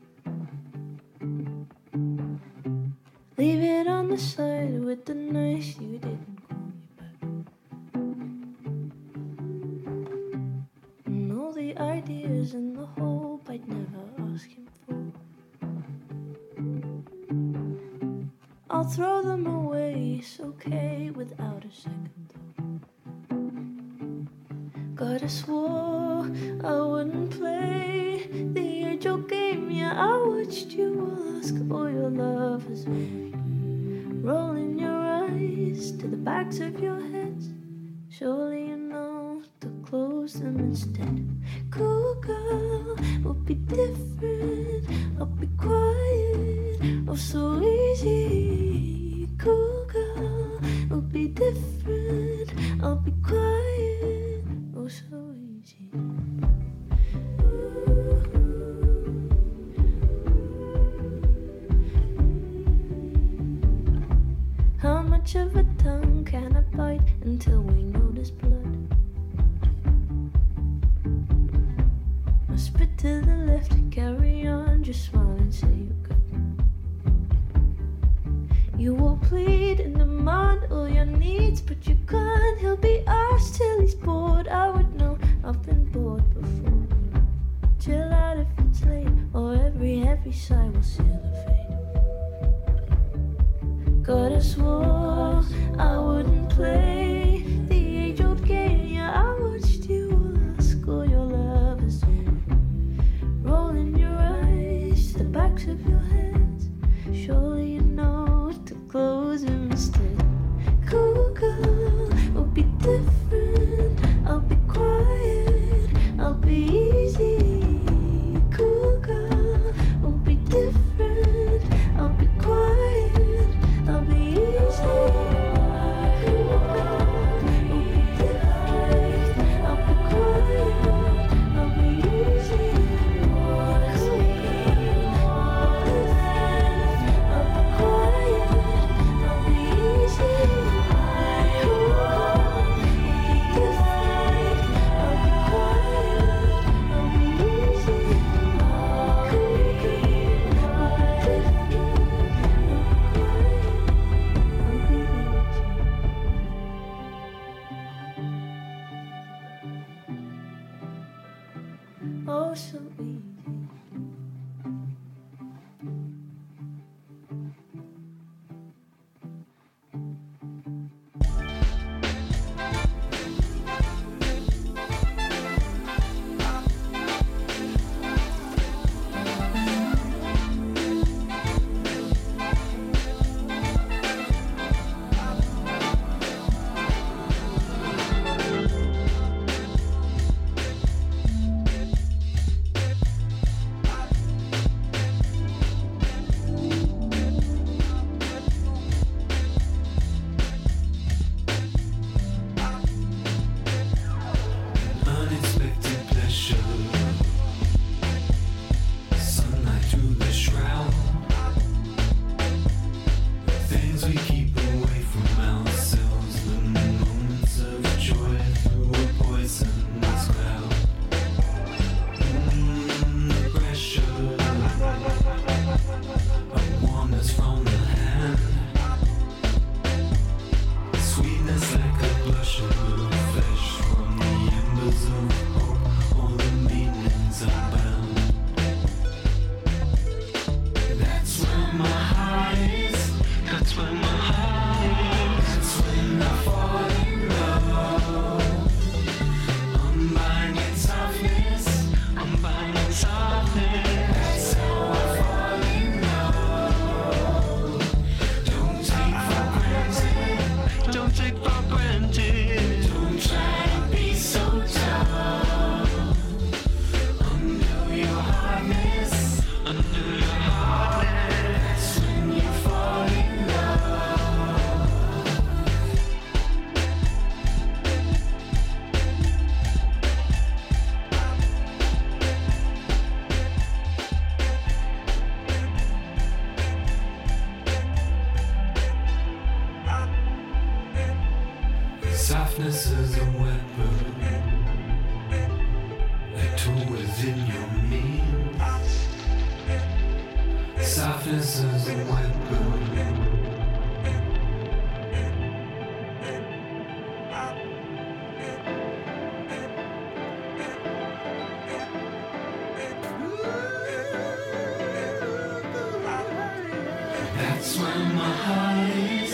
S14: Leave it on the side with the nice you didn't call me back. And all the ideas and the hope I'd never ask him for, I'll throw them away, it's okay without a second thought. God, I swore I wouldn't play the age-old game. Yeah, I watched you ask for your lovers, rolling your eyes to the backs of your heads. Surely you know to close them instead. Cool girl, we'll be different. I'll be quiet, oh so easy. Cool girl, we'll be different. I'll be quiet, oh so easy. How much of a tongue can I bite until we notice blood? I spit to the left, carry on, just smile and say you're good. You will plead and demand all your needs, but you can't. He'll be asked till he's bored. I would know, I've been bored before. Chill out if it's late, or every heavy sigh will seal the fate. God, I swore I wouldn't play the age-old game. Yeah, I watched you ask all your lovers, rolling your eyes to the backs of your heads. Surely you know to close them instead. Cool girl, we'll be different. I'll be quiet, I'll be easy. Cool girl, we'll be different. I'll be quiet, I'll be easy. Cool girl. oh so easy.
S15: Softness is a weapon, a tool within your means. Softness is a weapon. That's when my heart is.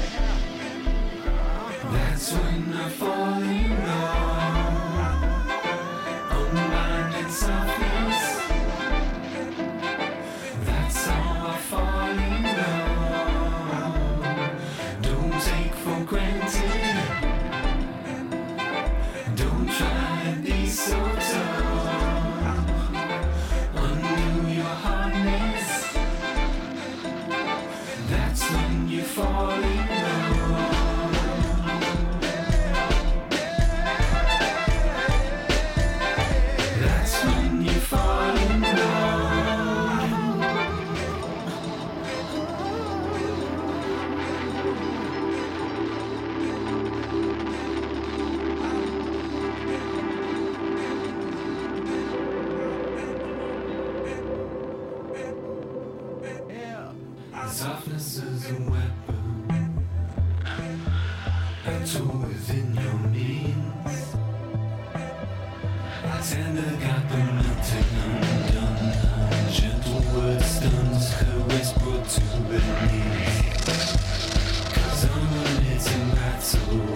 S15: That's when I fall in love. Unbinding softness. That's how I fall in love. Don't take for granted. Don't try to be so tough. Undo your hardness. That's when you fall in love. Softness is a weapon, a tool within your means. Tender got the melting undone. Gentle word stuns, caress brought to their knees. 'Cause unremitting battle,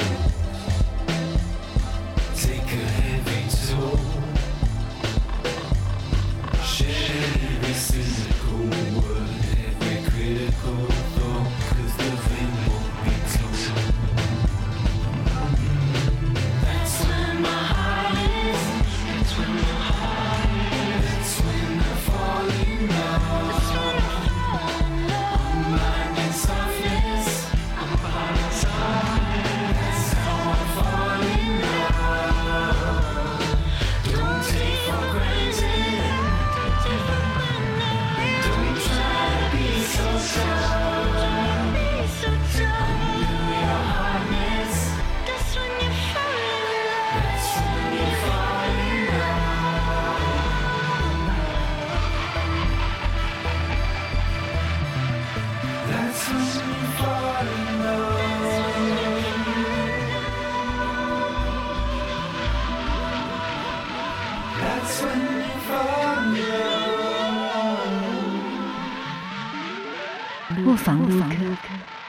S15: take a heavy toll. Share every cynical word. Critical thought, 'cause the thing won't be told. That's when my heart is. That's when my heart is. That's when you found me.
S16: 卧房录客。